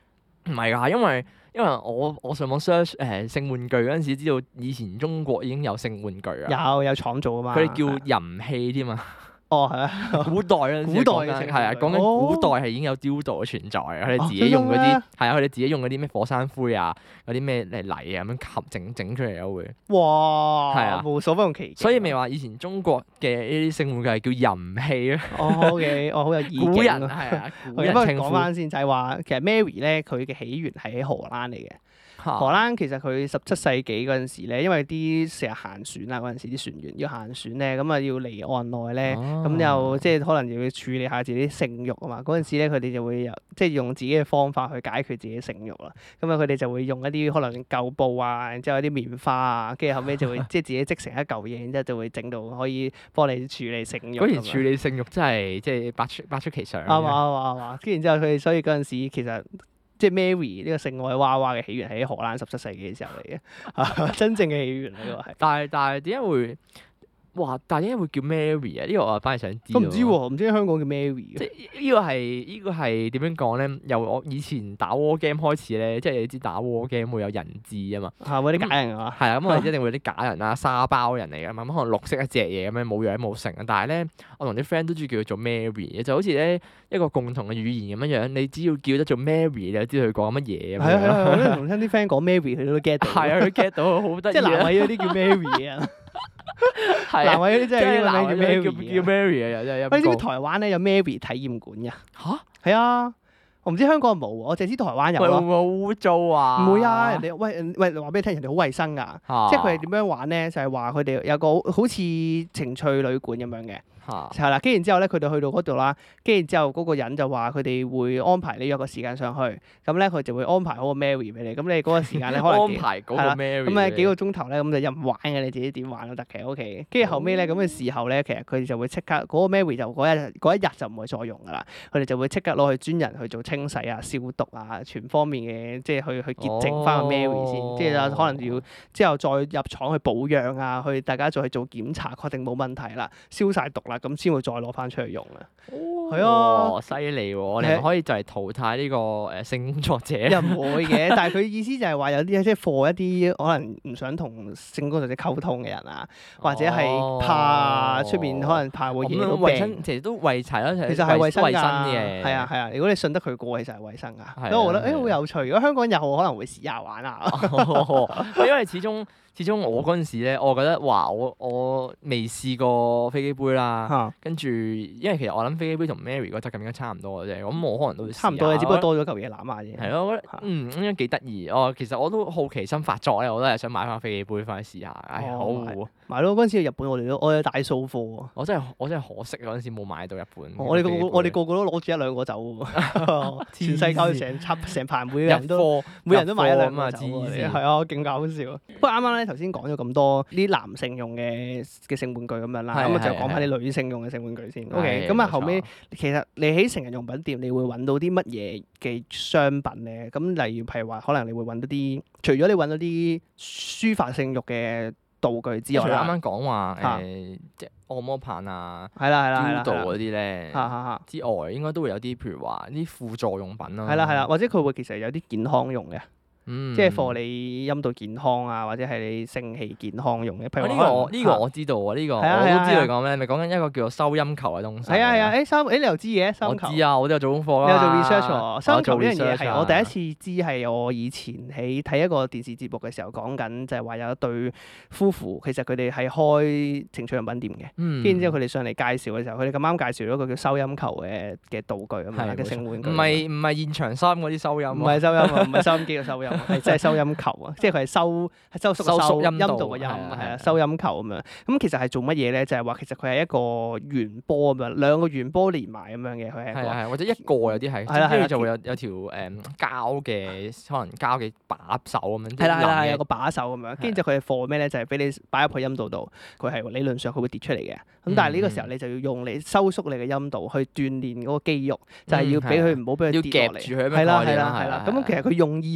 唔係㗎，因為因為我我上網 search 誒性玩具嗰陣時，知道以前中國已經有性玩具啊。 有有廠做㗎嘛。 佢哋叫淫器添啊。 哦，係啊， 古代嗰陣時古代講緊嘅性係啊， 玩具講緊哦古代係已經有 dildo 嘅存在啊！佢哋哦自己用嗰啲真嘅咩係啊，佢哋自己用嗰啲咩火山灰啊，嗰啲咩嚟泥啊咁樣合整整出嚟咯會。 哇， 係啊無所不用其極。 所以咪話以前中國嘅呢啲性玩具係叫淫器啊。 哦，OK，哦，好有意境古人啊。 係啊，古咁不過人稱呼。 講翻先，就係話其實 Mary 咧，佢嘅起源係喺荷蘭嚟嘅。荷嚇蘭其實佢十七世紀嗰陣時咧，因為啲成日行船啊，嗰陣時啲船員要行船咧，咁啊要離岸內咧，咁又即係可能又要處理下自己啲性慾啊嘛。嗰陣時咧，佢哋就會有即係用自己嘅方法去解決自己嘅性慾啦。咁啊，佢哋就會用一啲可能舊布啊，然之後一啲棉花啊，跟住後尾就會即係自己織成一嚿嘢，然之後就會整到可以幫你處理性慾咁樣。 嗰時處理性慾真係即係百出百出奇想。 啱啊啱啊啱啊！跟住然之後佢哋所以嗰陣時其實。即係 Mary 呢個性愛娃娃嘅起源係喺荷蘭十七世紀嘅時候嚟嘅，真正嘅起源呢個係。 但係但係點解會？哇！但係點解會叫 Mary 啊？呢個我反而想知。 我唔知喎，唔知香港叫 Mary 即嘅。 係呢個係呢個係點樣講咧？由我以前打 war game 開始咧，即係你知打 war game 會有人質啊嘛。 係咪啲假人啊？ 係啊，咁我哋一定會有啲假人啦、沙包人嚟㗎嘛。咁可能綠色一隻嘢咁樣冇樣冇成啊。但係咧，我同啲 friend 都中意叫佢做 Mary 嘅，就好似咧一個共同嘅語言咁樣樣。你只要叫得做 Mary，你就知道佢講乜嘢咁樣。 係啊係啊，我都同親啲 friend 講 Mary，佢都 get 到。 係啊，佢 get 到好得意即係南啊！ 偉嗰啲叫 Mary 啊， 係啊， 南偉嗰啲真即係係呢男個名叫人叫叫 Mary 啊。 Mary 啊，又真係喂，你知唔知陰公台灣咧有 Mary 體驗館㗎？ 嚇？ 係啊，我唔知香港有冇喎，我淨係知台灣有喂，會唔咯。 會好污糟啊？ 唔會啊，人哋喂喂話俾你聽，人哋好衞生㗎。 啊即係佢哋點樣玩咧？就係話佢哋有個好似情趣旅館咁樣嘅。 嚇係啦，跟住然之後咧，佢哋去到嗰度啦，跟住之後嗰個人就話佢哋會安排你約個時間上去，咁咧佢就會安排好個 Mary 俾你，咁你嗰個時間咧可能安幾排嗰個係啦 Mary 咁啊幾個俾鐘頭咧，咁就任玩嘅，你自己點玩都得嘅，OK。跟住後尾咧咁嘅時候咧，其實佢哋就會即刻嗰個 Mary 就嗰一日嗰一日就唔會再用噶啦，佢哋就會即刻攞去專人去做清洗啊、消毒啊，全方面嘅即係去去潔淨翻個 Mary 先， 哦即係可能要之後再入廠去保養啊，去大家再去做檢查，確定冇問題啦，消晒毒啦，咁先會再攞翻出去用啦。係啊哦，犀利喎！我哋咪可以就係淘汰呢個誒性工作者。 又唔會嘅，但係佢意思就係話有啲即係 for 一啲可能唔想同性工作者溝通嘅人啊，或者係怕出面可能怕會惹到咁樣衞病。 生其實都為齊啦， 其實係衞生㗎， 衞生嘅。 係啊係啊，如果你信得佢過，其實係衞生係㗎。所以我覺得係誒好有趣。如果香港有，可能會試下玩啊。 因為始終始終我嗰陣時咧，我覺得哇，我我未試過飛機杯啦。 嚇跟住，因為其實我諗飛機杯同 Mary 個質感應該差唔多嘅啫，咁我可能都會試差唔多嘅， 下只不過多咗嚿嘢攬下啫。 係咯，我覺得嗯應該幾得意。哦，其實我都好奇心發作咧，我都係想買翻飛機杯翻去試下。唉，好哦買咯，嗰陣時去日本我哋都我有大掃貨啊。 我真係我真係可惜嗰陣時冇買到日本。 我哋個個我哋個個都攞住一兩個走喎，全世界成插成排，每個人都貨每人都買一兩入貨啊嘛個走喎。 黐線係啊，勁搞笑。不過啱啱咧頭先講咗咁多啲男性用嘅嘅性玩具咁樣啦， 係咁啊就係講翻啲女性用嘅性玩具先。 係 OK，咁啊冇錯後尾其實你喺成人用品店，你會揾到啲乜嘢嘅商品咧？咁例如譬如話，可能你會揾到啲，除咗你揾到啲抒發性慾嘅道具之外啦， 除咗啱啱講話嚇誒，即係按摩棒啊、 係啦係啦係啦 dildo 係啦嗰啲咧嚇嚇嚇之外，應該都會有啲譬如話啲輔助用品啦。 係啦係啦，或者佢會其實有啲健康用嘅。 嗯， 即係 for 你陰道健康啊，或者係你性器健康用嘅。譬如哦呢話個我呢個可能我知道喎，呢個我係啊係啊都知道係啊你講咩，咪講緊一個叫做收音球嘅東西。 係啊係啊，誒三誒你又知嘅三球。 我知啊，我都有做功課啦。 你有做 research 喎，三球我做呢樣嘢 research 啊係我第一次知，係我以前喺睇一個電視節目嘅時候講緊，就係話有一對夫婦，其實佢哋係開情趣用品店嘅， 嗯， 跟住之後佢哋上嚟介紹嘅時候，佢哋咁啱介紹咗個叫收音球嘅嘅道具咁樣係嘅性玩具。 唔係唔係現場收音嗰啲收音喎， 唔係收音啊，唔係收音機嘅收音，係真係收音球啊！即係佢係收係收縮個收縮收陰道陰道個音， 係啊係啊係啊，收音球咁樣。咁其實係做乜嘢咧？就係話其實佢係一個圓波咁樣，兩個圓波連埋咁樣嘅，佢係一個。 係啊係啊，或者一個有啲係， 係啦係啦跟住就會有有條誒膠嘅可能膠嘅把手咁樣。 係啦係啦，係有有個把手咁樣，跟住就佢係貨咩咧？就係俾你擺入去陰道度，佢係理論上佢會跌出嚟嘅。咁但係呢個時候你就要用嚟收縮你嘅陰道去鍛鍊嗰個肌肉，就係要俾佢唔好俾佢要跌落嚟。 夾住佢咁樣係啦係概念啦啦係啦。 係係咁其實佢用意係乜嘢咧？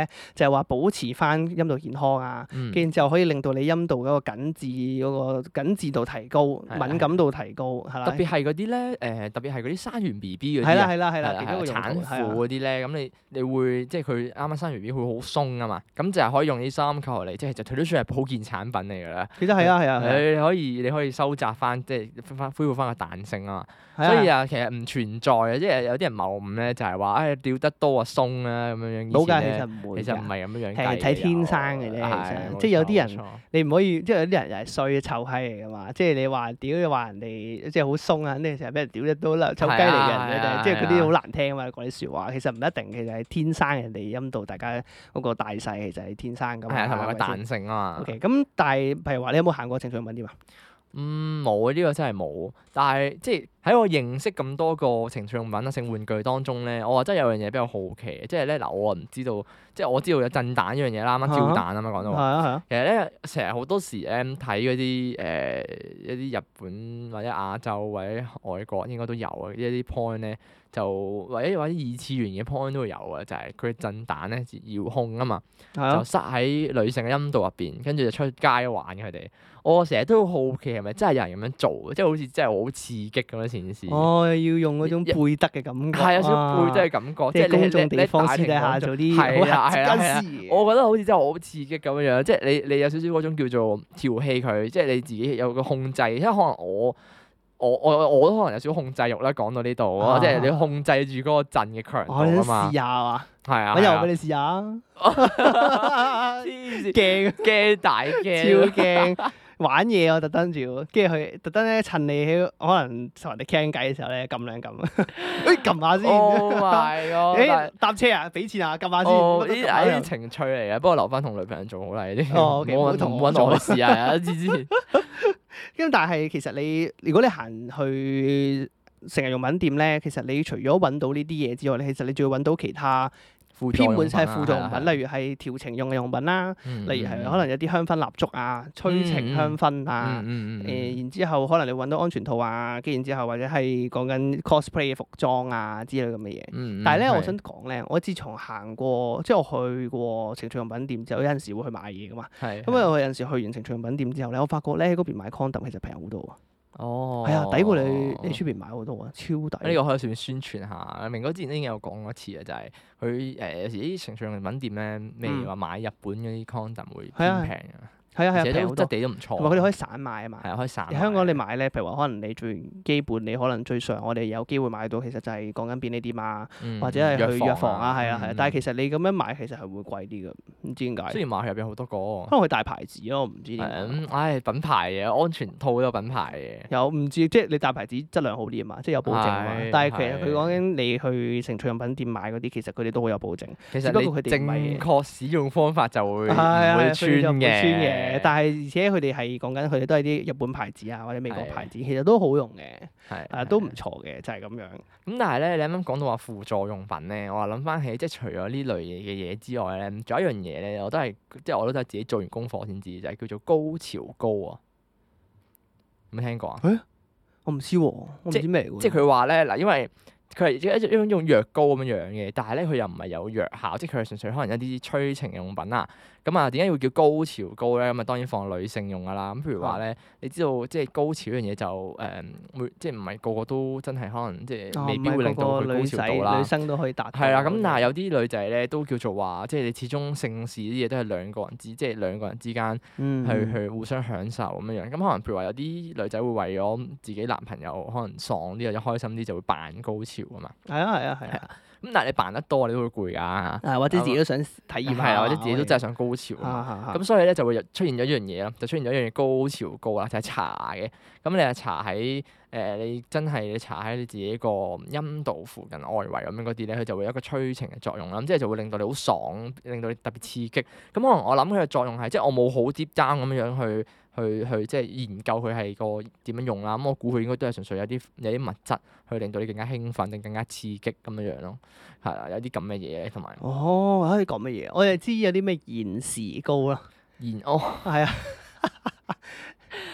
咧，就係話保持翻陰道健康啊，跟住之後可以令到你陰道嗰個緊緻嗰個緊緻度提高，敏感度提高，係啦。 特別係嗰啲咧，誒特別係嗰啲生完 B B 嗰啲係啦係啦係啦， 係啦產婦嗰啲咧，咁你你會即係佢啱啱生完 B B 會好鬆啊嘛，咁就係可以用啲三球嚟，即係其實佢都算係保健產品嚟㗎啦。 其實係啊係啊， 你可以你可以收窄翻，即係翻恢復翻個彈性啊嘛。所以啊，其實唔存在嘅，即係有啲人謬誤咧，就係話誒吊得多啊鬆啊咁樣樣。 冇㗎，其實唔會。 其實唔係咁樣樣。 係睇天生嘅啫，其實即係有啲人你唔可以，即係有啲人又係衰臭閪嚟㗎嘛。即係你話屌你話人哋即係好鬆啊，肯定成日俾人屌得多啦，臭雞嚟嘅人嘅，即係嗰啲好難聽啊嘛，講啲説話。其實唔一定，其實係天生人哋陰道大家嗰個大細其實係天生㗎嘛。 係啊，同埋個彈性啊嘛。 OK，咁但係譬如話你有冇行過情趣用品店啊？ 嗯，冇啊！呢個真係冇。但係即係喺我認識咁多個情趣用品啊、性玩具當中咧，我話真係有樣嘢比較好奇嘅，即係咧嗱，我唔知道，即係我知道有震蛋呢樣嘢啦，啱啱跳蛋啊嘛講到。係啊係啊。 其實咧，成日好多時咧睇嗰啲誒一啲日本或者亞洲或者外國應該都有啊，一啲 point 咧就或者或者二次元嘅 point 都會有啊，就係佢震蛋咧遙控啊嘛，就塞喺女性嘅陰道入邊，跟住就出街玩佢哋。我成日都好奇係咪真係有人咁樣做，即係好似真係好刺激咁樣件事。 哦，要用嗰種背德嘅感覺。 係有少少背德嘅感覺， 即係公眾地方私底下做啲好核突嘅事。 我覺得好似真係好刺激咁樣樣，即係你你有少少嗰種叫做調戲佢，即係你自己有個控制，因為可能我我我我都可能有少少控制欲啦。講到呢度，即係你控制住嗰個震嘅強度啊嘛。 試下啊！ 係啊， 我又俾你試下。 黐線，驚驚大驚， 超驚！玩嘢我特登住，跟住佢特登咧趁你喺可能同人哋傾偈嘅時候咧撳兩撳，誒撳下先。 Oh my god！ 誒搭車啊，俾錢啊，撳下先。 呢啲情趣嚟嘅，不過留翻同女朋友做好啦呢啲。 哦，OK， 冇揾我去試下，知知。 咁但係其實你如果你行去成日用品店咧，其實你除咗揾到呢啲嘢之外咧，其實你仲要揾到其他。偏門係輔助用品，例如係調情用嘅用品啦，例如係可能有啲香薰蠟燭啊、催情香薰啊，誒然之後可能你揾到安全套啊，跟住然之後或者係講緊 cosplay 嘅服裝啊之類咁嘅嘢。但係咧，我想講咧，我自從行過，即係我去過情趣用品店之後，有陣時會去買嘢噶嘛。咁啊，我有陣時去完情趣用品店之後咧，我發覺咧喺嗰邊買 condom 其實平好多啊。 哦， 係啊，抵過你你出邊買好多啊，超抵！ 呢個可以順便宣傳下。明哥之前已經有講過一次啊，就係佢誒有時啲情趣用品店咧，未話買日本嗰啲 condom 會偏平啊。 係啊係啊， 平好多，質地都唔錯。同埋佢哋可以散買啊嘛。 係啊，可以散。 香港你買咧，譬如話可能你最基本，你可能最常我哋有機會買到，其實就係講緊便利店啊，或者係去藥房啊，係啊係啊。但係其實你咁樣買其實係會貴啲㗎，唔知點解。 雖然買入邊好多個。 可能佢大牌子咯，我唔知點解。 係唉，品牌嘅安全套都有品牌嘅。 有唔知即係你大牌子質量好啲啊嘛，即係有保證啊嘛。但係其實佢講緊你去情趣用品店買嗰啲，其實佢哋都好有保證。 其實你正確使用方法就會唔會穿嘅。 但係而且佢哋係講緊佢哋都係啲日本牌子啊，或者美國牌子，其實都好用嘅，係啊都唔錯嘅，就係咁樣。 咁但係咧，你啱啱講到話輔助用品咧，我話諗翻起，即係除咗呢類嘢嘅嘢之外咧，仲有一樣嘢咧，我都係即係我都係自己做完功課先知，就係叫做高潮膏啊！有冇聽過啊？ 誒，我唔知喎，我唔知咩嚟喎。 即係佢話咧嗱，因為佢係一一種用藥膏咁樣樣嘅，但係咧佢又唔係有藥效，即係佢係純粹可能一啲催情用品啦。咁啊，點解要叫高潮膏咧？咁啊，當然放女性用噶啦。咁譬如話咧，你知道即係高潮呢樣嘢就誒，會即係唔係個個都真係可能即係未必會令到佢高潮到啦。 女生都可以達到。 係啦，咁但係有啲女仔咧都叫做話，即係你始終性事啲嘢都係兩個人之，即係兩個人之間去去互相享受咁樣樣。咁可能譬如話有啲女仔會為咗自己男朋友可能爽啲或者開心啲，就會扮高潮啊嘛。 係啊係啊係啊。 咁但係你扮得多，你都會攰㗎。 或者自己都想體驗下。 係啊，或者自己都真係想高潮啊嘛。咁所以咧就會出現咗一樣嘢咯，就出現咗一樣嘢高潮膏啦，就係搽嘅。咁你係搽喺誒，你真係你搽喺你自己個陰道附近外圍咁樣嗰啲咧，佢就會有一個催情嘅作用啦。咁即係就會令到你好爽，令到你特別刺激。咁可能我諗佢嘅作用係，即係我冇好 deep down咁樣去。去去即係研究佢係個點樣用啦，咁我估佢應該都係純粹有啲有啲物質去令到你更加興奮定更加刺激咁樣樣咯，係啦，有啲咁嘅嘢同埋。 哦，可以講乜嘢？我哋知有啲咩延時膏啦。 延哦， 係啊。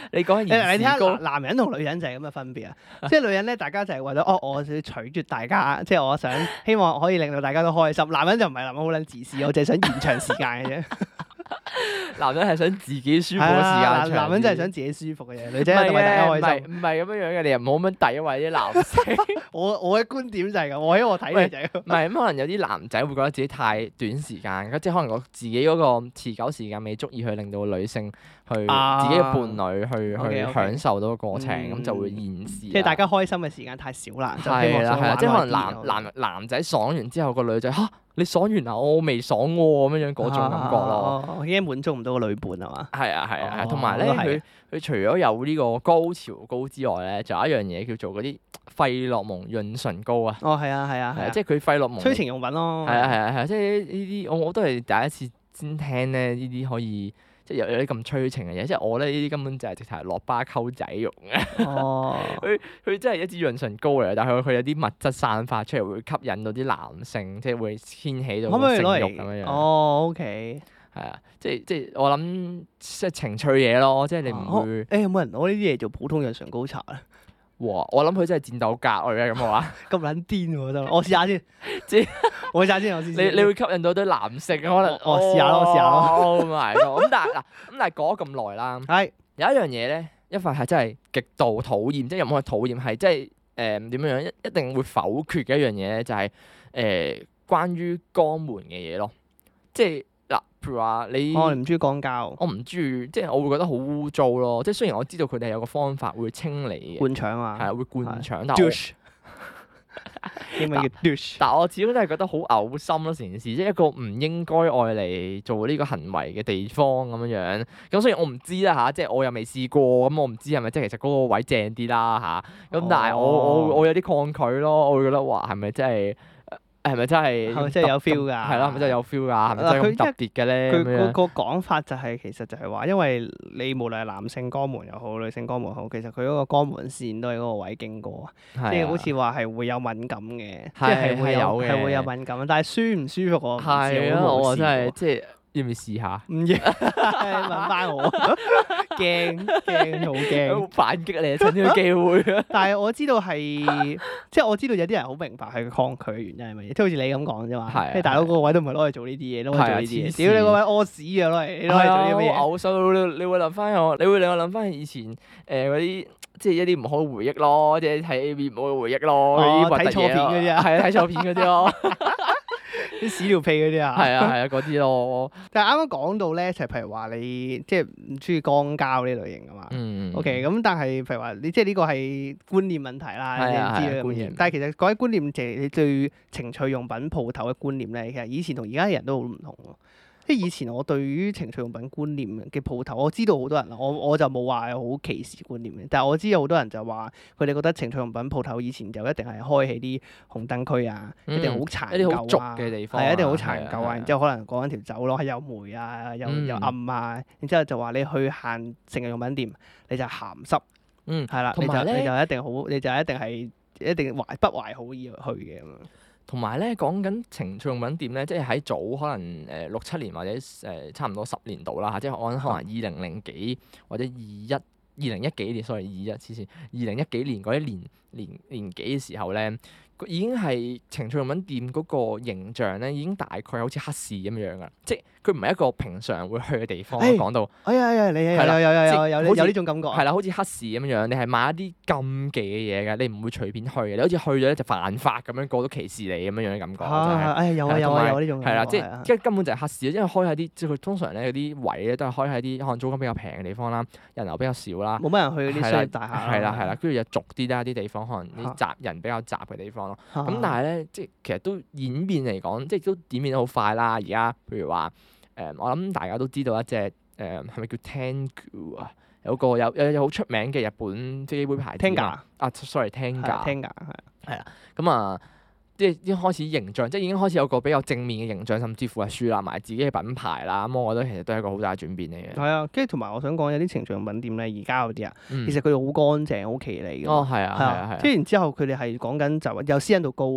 你講緊你睇下言事高， 男人同女人就係咁嘅分別啊！即係女人咧，大家就係為咗哦，我想取悅大家，即係我想希望可以令到大家都開心。男人就唔係，男人好撚自私，我淨係想延長時間嘅啫。 男人係想自己舒服嘅係時間啊， 長男人真係啲想自己舒服嘅嘢，女唔係仔係為大家嘅，唔係開心。 唔係咁樣樣嘅，你又唔好咁樣詆毀啲男性。 我我嘅觀點就係咁，我喺我睇嘅就係咁。 唔係咁，可能有啲男仔會覺得自己太短時間，即係可能我自己嗰個持久時間未足以去令到女性去、 啊自己嘅伴侶去 OK，OK 去享受到個過程，咁、 嗯就會延時。 即係大家開心嘅時間太少啦，就希望想係啦係啦，即係可能男玩耐啲男男仔爽完之後，個女仔嚇你爽完啊，我未爽喎咁樣樣嗰種感覺咯。 哦，已經滿足唔到個女伴係嘛？ 係啊係啊係啊， 哦同埋咧都係佢佢除咗有呢個高潮膏之外咧，仲有一樣嘢叫做嗰啲費洛蒙潤唇膏啊。 哦，係啊係啊係啊， 係啊，即係佢費洛蒙。 催情用品咯。 係啊係啊係啊，即係呢啲我我都係第一次先聽咧，呢啲可以即係有有啲咁催情嘅嘢。即係我咧呢啲根本就係直頭係落巴溝仔用嘅。 哦， 佢佢真係一支潤唇膏嚟，但係佢佢有啲物質散發出嚟，會吸引到啲男性，即係會掀起到可唔個性慾可以攞嚟咁樣樣。 哦，OK。 係啊，即係即係我諗即係情趣嘢咯，即係你唔哦會誒有冇人攞呢啲嘢做普通潤唇膏搽咧？ 哇！我諗佢真係戰鬥格嚟嘅咁嘅話， 咁撚癲喎真係，我試下先。 即係我試下先，我試你先。 你會吸引到啲男性可能。 我我試下咯我試下咯 Oh my god！咁但係嗱，咁但係過咗咁耐啦。 係有一樣嘢咧，一發係真係極度討厭，即係又唔可以討厭，係即係誒點樣樣一一定會否決嘅一樣嘢咧，就係、誒、關於肛門嘅嘢咯。即係嗱，譬如話你， 哦，你唔中意肛交， 我唔中意，即係我會覺得好污糟咯。即係雖然我知道佢哋係有個方法會清理嘅， 灌腸啊， 係啊會灌腸，但係我 douche，英文叫 douche。 但我始終都係覺得好嘔心咯，成件事即係一個唔應該愛嚟做呢個行為嘅地方咁樣樣。咁雖然我唔知啦吓，即係我又未試過，咁我唔知係咪即係其實嗰個位正啲啦吓。咁但係我我我有啲抗拒咯，我會覺得哇係咪真係係咪真係係咪真係有 feel 㗎？ 係咯，係咪真係有 feel 㗎？係咪真係咁特別嘅咧？ 佢咁樣嗰個講法就係其實就係話，因為你無論係男性肛門又好，女性肛門好，其實佢嗰個肛門線都係嗰個位經過啊，即係好似話係會有敏感嘅，即係會有係有嘅係會有敏感，但係舒唔舒服我唔知， 係啊，我我冇試過真係即係要唔要試下？ 唔要問翻我，驚驚好驚。 反擊你啊！趁呢個機會啊！ 但係我知道係，即係我知道有啲人好明白係佢抗拒嘅原因係乜嘢，即係好似你咁講啫嘛。 係啊即係大佬嗰個位都唔係攞嚟做呢啲嘢，攞嚟做呢啲嘢。 係啊黐線屌你個位屙屎啊，攞嚟你攞嚟做啲乜嘢？ 好嘔心，你你會諗翻我，你會令我諗翻以前誒嗰啲，即係一啲唔好嘅回憶咯，即係睇 A V 唔好嘅回憶咯，嗰啲哦核突睇錯片嗰啲啊係啊，睇錯片嗰啲咯， 啲屎尿屁嗰啲啊。 係啊係啊嗰啲咯， 但係啱啱講到咧，就係譬如話你即係唔中意肛交呢類型噶嘛。 嗯 O.K. 咁但係譬如話你即係呢個係觀念問題啦， 係啊你知啦係啊觀念但係其實講起觀念，就係你對情趣用品鋪頭嘅觀念咧，其實以前同而家嘅人都好唔同咯。即係以前我對於情趣用品觀念嘅鋪頭，我知道好多人啦，我我就冇話好歧視觀念嘅，但係我知有好多人就話佢哋覺得情趣用品鋪頭以前就一定係開喺啲紅燈區啊， 嗯一定好殘一啲好俗舊啊， 嘅地方啊係一定好殘係啊舊啊， 係啊然之後可能講緊條走廊係有霉啊，又嗯又暗啊，然之後就話你去行情趣用品店你就鹹濕。 嗯， 係啦，你就同埋咧你就一定好，你就一定係一定懷不懷好意去嘅咁樣。 同埋咧講緊情趣用品店咧，即係喺早可能誒六七年或者誒差唔多十年度啦嚇，即係我諗可能二零零幾或者二一二零一幾年，sorry 二一黐線，二零一幾年嗰啲年年年幾嘅時候咧，已經係情趣用品店嗰個形象咧，已經大概好似黑市咁樣噶，即係佢唔係一個平常會去嘅地方。 誒講到哎呀哎呀，你有係啦有有有有即係有好似有呢種感覺啊。 係啦，好似黑市咁樣樣，你係買一啲禁忌嘅嘢嘅，你唔會隨便去嘅，你好似去咗咧就犯法咁樣，個個都歧視你咁樣樣嘅感覺，真係。 啊，哎呀有啊有啊係同埋有啊呢種感覺係啦，即係啊係即係根本就係黑市，因為開喺啲即係佢通常咧嗰啲位咧都係開喺啲可能租金比較平嘅地方啦，人流比較少啦， 冇乜人去啲係啦商業大廈係啦係啦，跟住又俗啲啦啲地方，可能啲嚇雜人比較雜嘅地方咯。 啦咁但係咧，即係其實都演變嚟講，即係都演變得好快啦。而家譬如話誒，我諗大家都知道一隻誒係咪叫 Tengu 啊？有個有有有好出名嘅日本飛機杯牌子啊 Tenga 嘛啊，sorry Tenga。 聽㗎係咁啊，即係已經開始形象，即係已經開始有個比較正面嘅形象，甚至乎係樹立埋自己嘅品牌啦。咁我覺得其實都係一個好大嘅轉變嚟嘅。 係啊，跟住同埋我想講有啲情趣用品店咧，而家嗰啲啊， 嗯其實佢哋好乾淨、好企理㗎嘛。 哦係啊係啊係啊即係然之後佢哋係講緊就話又私隱度高，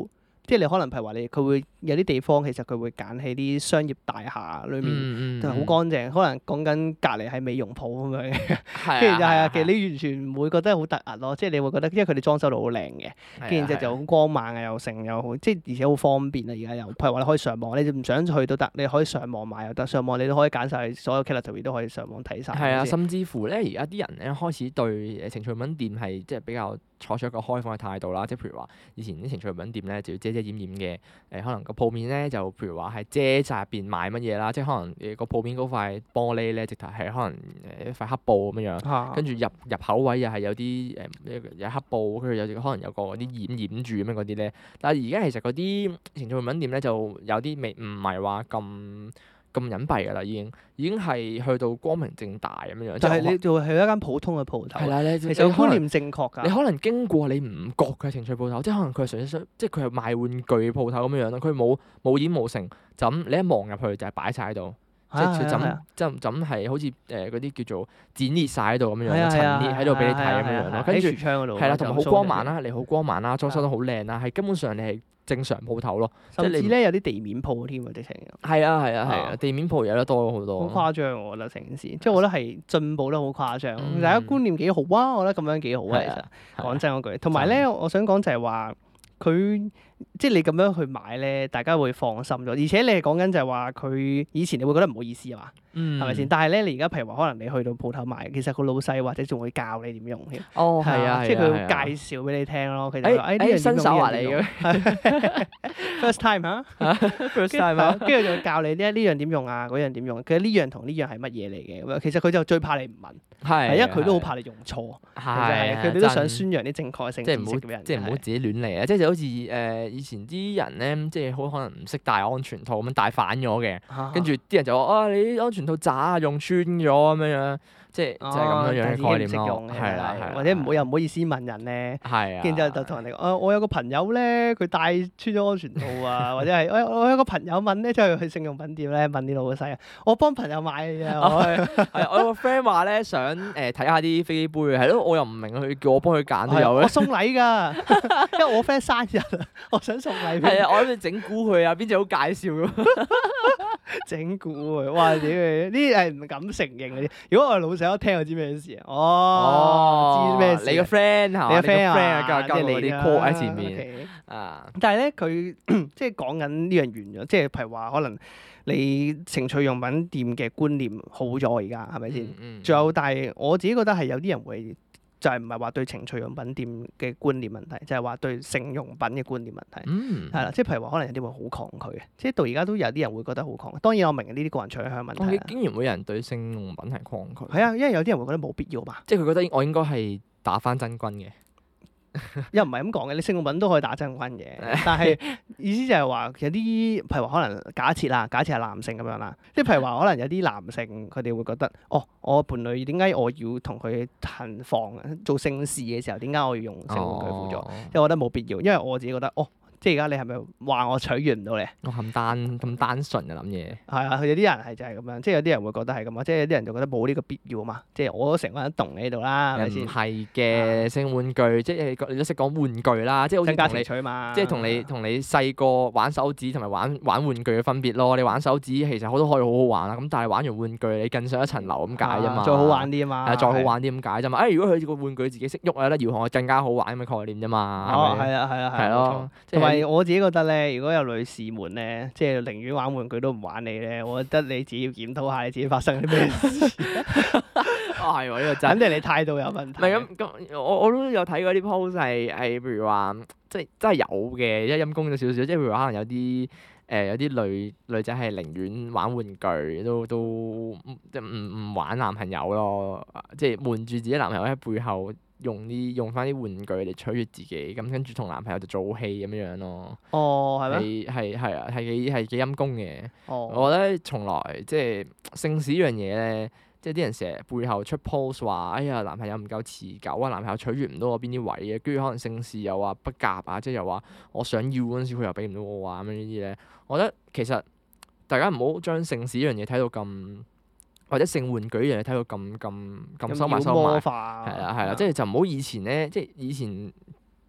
即係你可能譬如話你佢會有啲地方其實佢會揀喺啲商業大廈裏面，就係好乾淨。可能講緊隔離係美容鋪咁樣嘅，跟住就係啊，其實你完全唔會覺得好突兀咯。即係你會覺得，因為佢哋裝修到好靚嘅，跟住之後就好光猛啊，又成又好，即係而且好方便啊。而家又譬如話你可以上網，你唔想去都得，你可以上網買又得。上網你都可以揀晒所有 category 都可以上網睇晒。 係啊，甚至乎咧，而家啲人咧開始對誒情趣用品店係即係比較採取一個開放嘅態度啦。即係譬如話，以前啲情趣用品店咧就要遮遮掩掩嘅，誒、呃、可能個鋪面咧就譬如話係遮晒入邊賣乜嘢啦，即係可能誒個鋪面嗰塊玻璃咧直頭係可能誒一塊黑布咁樣樣，跟住、啊、入入口位又係有啲誒有黑布，跟住有可能有個啲掩掩住咁樣嗰啲咧。但係而家其實嗰啲情趣用品店咧就有啲未唔係話咁咁隱蔽㗎啦，已經已經係去到光明正大咁樣樣。但係你就係一間普通嘅鋪頭。係啦，你其實觀念正確㗎。你可能經過你唔覺嘅情趣鋪頭，即係可能佢係純粹即係佢係賣玩具鋪頭咁樣樣咯。佢冇冇掩冇成，就咁你一望入去就係擺晒喺度，即係就咁就咁係好似誒嗰啲叫做展列晒喺度咁樣樣，陳列喺度俾你睇咁樣樣咯。跟住係啦，同埋好光猛啦，你好光猛啦，裝修得好靚啦，係根本上你係正常鋪頭咯，甚至咧有啲地面鋪添啊，直情。係啊係啊係啊，地面鋪有得多好多。好誇張，我覺得成件事，即係我覺得係進步得好誇張。大家觀念幾好啊，我覺得咁樣幾好啊，其實講真嗰句。同埋咧，我想講就係話佢。即係你咁樣去買咧，大家會放心咗。而且你係講緊就係話佢以前你會覺得唔好意思啊嘛，係咪先？但係咧，你而家譬如話可能你去到鋪頭買，其實個老細或者仲會教你點用添。哦，係啊，即係佢會介紹俾你聽咯。其實誒呢樣新手話你嘅 first time 嚇，first time 嚇，跟住就會教你呢呢樣點用啊，嗰樣點用。其實呢樣同呢樣係乜嘢嚟嘅咁樣？其實佢就最怕你唔問，係因為佢都好怕你用錯，係佢哋都想宣揚啲正確性知識俾人。即係唔好自己亂嚟啊！即係就好似誒。以前啲人咧，即係好可能唔識戴安全套咁樣戴反咗嘅，跟住啲人就話：啊，你啲安全套渣啊，用穿咗咁樣樣，即係就係咁樣樣嘅概念咯。係啦，或者唔好又唔好意思問人咧。係啊。跟住就就同人哋講：啊，我有個朋友咧，佢戴穿咗安全套啊，或者係我我有個朋友問咧，即係去性用品店咧問啲老細啊，我幫朋友買嘅啫。係我有個 friend 話咧，想誒睇下啲飛機杯，係咯，我又唔明佢叫我幫佢揀都有咧。我送禮㗎，因為我 friend 生日啊，我想送禮俾佢。係啊，我諗住整蠱佢啊，邊隻好介紹咁？整蠱佢，哇！屌呢啲係唔敢承認嗰啲。如果我係老細，一聽就知咩事啊？哦，知咩事？你個 friend 係嘛？你個 friend 啊，即係你啲 call 喺前面啊。但係咧，佢即係講緊呢樣完咗，即係譬如話可能你情趣用品店嘅觀念好咗，而家係咪先？仲有，但係我自己覺得係有啲人會。就係唔係話對情趣用品店嘅觀念問題，就係話對性用品嘅觀念問題，係啦、嗯，即係譬如話可能有啲會好抗拒嘅，即係到而家都有啲人會覺得好抗拒。當然我明呢啲個人取向問題。竟然會有人對性用品係抗拒？係啊，因為有啲人會覺得冇必要嘛，即係佢覺得我應該係打返真軍嘅。又唔係咁講嘅，你性用品都可以打真軍嘅，但係意思就係話有啲譬如話可能假設啦，假設係男性咁樣啦，即係譬如話可能有啲男性佢哋會覺得，哦，我伴侶點解我要同佢行房做性事嘅時候，點解我要用性玩具輔助？即係我覺得冇必要，因為我自己覺得，哦。即係而家你係咪話我取悅唔到你？我咁單咁單純嘅諗嘢。係啊，有啲人係就係咁樣，即係有啲人會覺得係咁啊，即係有啲人就覺得冇呢個必要嘛。即係我都成個人動喺度啦，係咪先？唔係嘅，性玩具即係你都識講玩具啦，即係好似增加情趣嘛。即係同你同你細個玩手指同埋玩玩玩具嘅分別咯。你玩手指其實好多可以好好玩啦，咁但係玩完玩具你更上一層樓咁解啫嘛。再好玩啲啊嘛。係再好玩啲咁解啫嘛。誒，如果佢個玩具自己識喐啊，得遙控更加好玩咁嘅概念啫嘛。哦，係啊，係啊，係咯。同埋我自己覺得咧。如果有女士們咧，即係寧願玩玩具都唔玩你咧，我覺得你自己要檢討下你自己發生啲咩事。啊，係喎，呢個真。肯定你態度有問題。唔係咁咁，我我都有睇過啲 post 係係，譬如話，即係真係有嘅，一陰公咗少少。即係譬如話，可能有啲誒、呃、有啲女女仔係寧願玩玩具，都都即係唔唔玩男朋友咯，即係瞞住自己男朋友喺背後。用啲用翻啲玩具嚟取悅自己，咁跟住同男朋友就做戲咁樣樣咯。哦，係咩？係係係啊，係幾係幾陰功嘅。哦，我覺得從來即係性事呢樣嘢咧，即係啲人成日背後出 post 話，哎呀男朋友唔夠持久啊，男朋友取悅唔到我邊啲位嘅，跟住可能性事又話不夾啊，即係又話我想要嗰陣時佢又俾唔到我啊咁樣呢啲咧，我覺得其實大家唔好將性事呢樣嘢睇到咁。或者性玩具呢樣嘢睇到咁咁咁收埋收埋，係啦係啦，即係就唔好以前咧，即係以前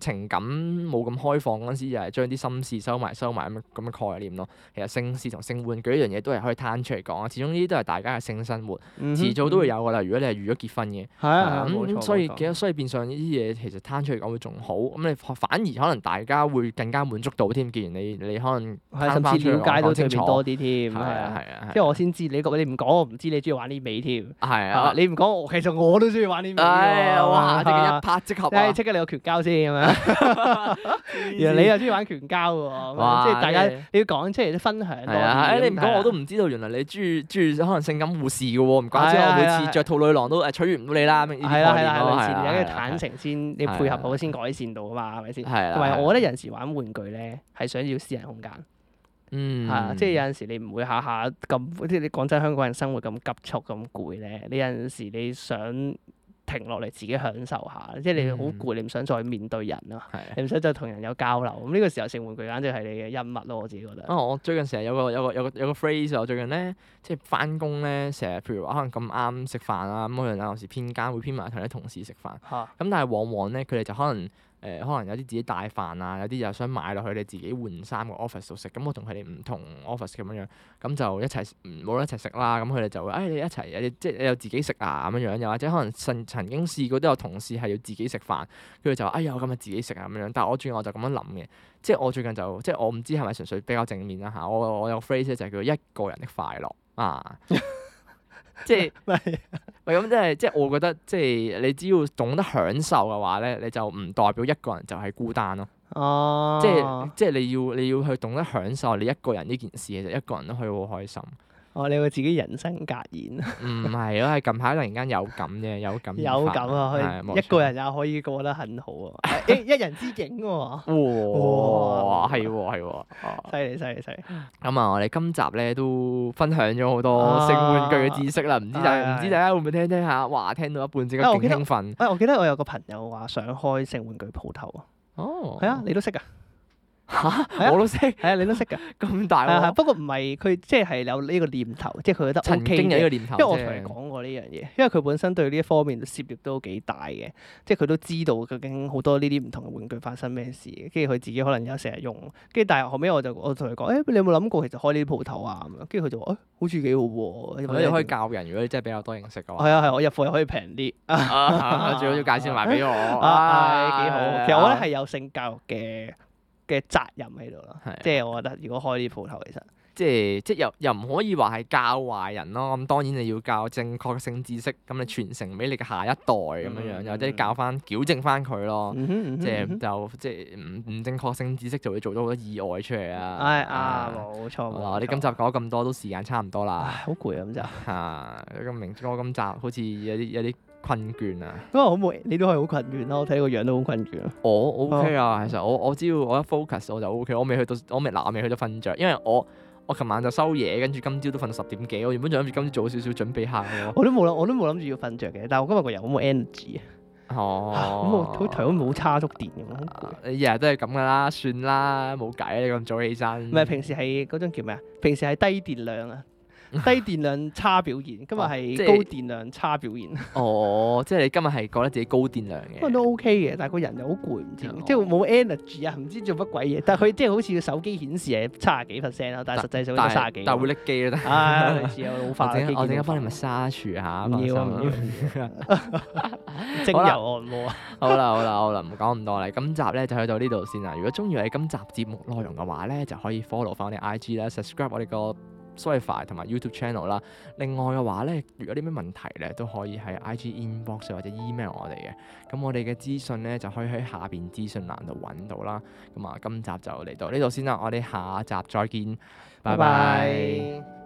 情感冇咁開放嗰陣時，就係將啲心事收埋收埋咁咁嘅概念咯。其實性事同性玩具呢樣嘢都係可以攤出嚟講啊。始終呢啲都係大家嘅性生活， 嗯、 遲早都會有㗎啦。如果你係預咗結婚嘅， 係啊， 咁所以其實所以變相呢啲嘢其實攤出嚟講會仲好。咁你反而可能大家會更加滿足到添。既然你你可能甚至了解到對面多啲添， 係啊係啊， 即係我先知你覺你唔講我唔知你中意玩呢味添。 係啊， 你唔講我其實我都中意玩呢味喎。 哇！即係一拍即合啊！ 即刻你有拳交先咁樣。原來你又中意玩拳交喎，即係大家你要講出嚟分享多啲。 你唔講我都唔知道，原來你中意中意可能性感護士嘅喎，唔怪之我每次着套女郎都誒取悅唔到你啦。呢啲概念咯，係啊， 跟住坦誠先，你配合好先改善到啊嘛，係咪先？ 係啊。 同埋我覺得有陣時玩玩具咧係想要私人空間。 嗯。係啊，即係有陣時你唔會下下咁，即係你講真，香港人生活咁急促咁攰咧，你有陣時你想停落嚟自己享受下，即係你好攰，你唔想再面對人啊， 嗯、 你唔想再同人有交流。咁呢個時候性玩具簡直係你嘅恩物咯，我自己覺得。 哦，我最近成日有個有個有個有個 phrase，我最近咧即係翻工咧，成日譬如話可能咁啱食飯啊，咁可能有時偏間會偏埋同啲同事食飯，咁、啊、但係往往咧佢哋就可能。誒、呃、可能有啲自己帶飯啊，有啲又想買落去你自己換衫個 office 度食，咁我同佢哋唔同 office 咁樣樣，咁就一齊冇得一齊食啦。咁佢哋就會誒、哎、你一齊，你即係你又自己食啊咁樣樣，又或者可能曾曾經試過都有同事係要自己食飯，佢哋就話哎呀我今日自己食啊咁樣樣。但係我最近我就咁樣諗嘅，即係我最近就即係我唔知係咪純粹比較正面啦嚇。我我有個 phrase 就係叫一個人的快樂啊。即係，喂咁即係，即係我覺得，即係你只要懂得享受嘅話咧，你就唔代表一個人就係孤單咯。哦，即係即係你要你要去懂得享受你一個人呢件事，其實一個人都可以好開心。哦，你會自己人生格言？唔係咯，係近排突然間有感嘅，有感有感啊！可以一個人也可以過得很好啊！一一人之境喎。哇！係喎係喎，犀利犀利犀利！咁啊，我哋今集咧都分享咗好多性玩具嘅知識啦，唔知大唔知大家會唔會聽聽下？哇！聽到一半即刻勁興奮。誒，我記得我有個朋友話想開性玩具鋪頭啊。哦。係啊，你都識㗎。嚇！我都識，係啊，你都識㗎，咁大喎。不過唔係佢即係有呢個念頭，即係佢覺得 O K 嘅。曾經有呢個念頭，因為我同你講過呢樣嘢，因為佢本身對呢一方面涉獵都幾大嘅，即係佢都知道究竟好多呢啲唔同嘅玩具發生咩事，跟住佢自己可能有成日用，跟住但係後尾我就我同佢講，誒你有冇諗過其實開呢啲鋪頭啊咁樣，跟住佢就話誒好似幾好喎，你可以教人，如果你真係比較多認識嘅話。係啊係，我入貨又可以平啲，最好要介紹埋俾我。啊，幾好，其實我覺得係有性教育嘅嘅責任喺度咯，即係我覺得如果開啲鋪頭，其實即係即係又又唔可以話係教壞人咯。咁當然你要教正確性知識，咁你傳承俾你嘅下一代咁樣樣，或者教翻矯正翻佢咯。即係就即係唔唔正確性知識就會做咗好多意外出嚟啊！係啊，冇錯。我哋今集講咁多都時間差唔多啦，好攰啊咁就嚇。咁明哥今集好似有啲有啲困倦啊！咁啊好冇，你都係好困倦咯。我睇你個樣都好困倦啊。我 OK 啊，其實我我只要我一 focus 我就 OK。我未去到，我未嗱，我未去到瞓着，因為我我琴晚就收嘢，跟住今朝都瞓到十點幾。我原本仲諗住今朝早少少準備下嘅。我都冇諗，我都冇諗住要瞓着嘅。但係我今日個人好冇 energy 啊。哦，咁我好頭都冇叉足電咁，好攰。你日日都係咁噶啦，算啦，冇計啊！你咁早起身。唔係平時係嗰種叫咩啊？平時係低電量啊。低電量差表現，今日係高電量差表現。哦，即係你今日係覺得自己高電量嘅。不過都 OK 嘅，但係個人又好攰，唔知即係冇 energy 啊，唔知做乜鬼嘢。但係佢即係好似個手機顯示係七十幾 percent 咯，但係實際上都三十幾。但係會拎機咯。唉，類似有老化。我陣間幫你咪沙廚下。唔要啊！唔要。精油按摩啊！好啦好啦好啦，唔講咁多啦。今集咧就去到呢度先啦。如果中意我哋今集節目內容嘅話咧，就可以 follow 翻我哋 I G 啦 ，subscribe 我哋個Spotify 同埋 YouTube channel 啦。另外嘅話咧，如果有啲咩問題咧，都可以喺 I G inbox 或者 email 我哋嘅。咁我哋嘅資訊咧就可以喺下邊資訊欄度揾到啦。咁啊，今集就嚟到呢度先啦，我哋下集再見，拜拜。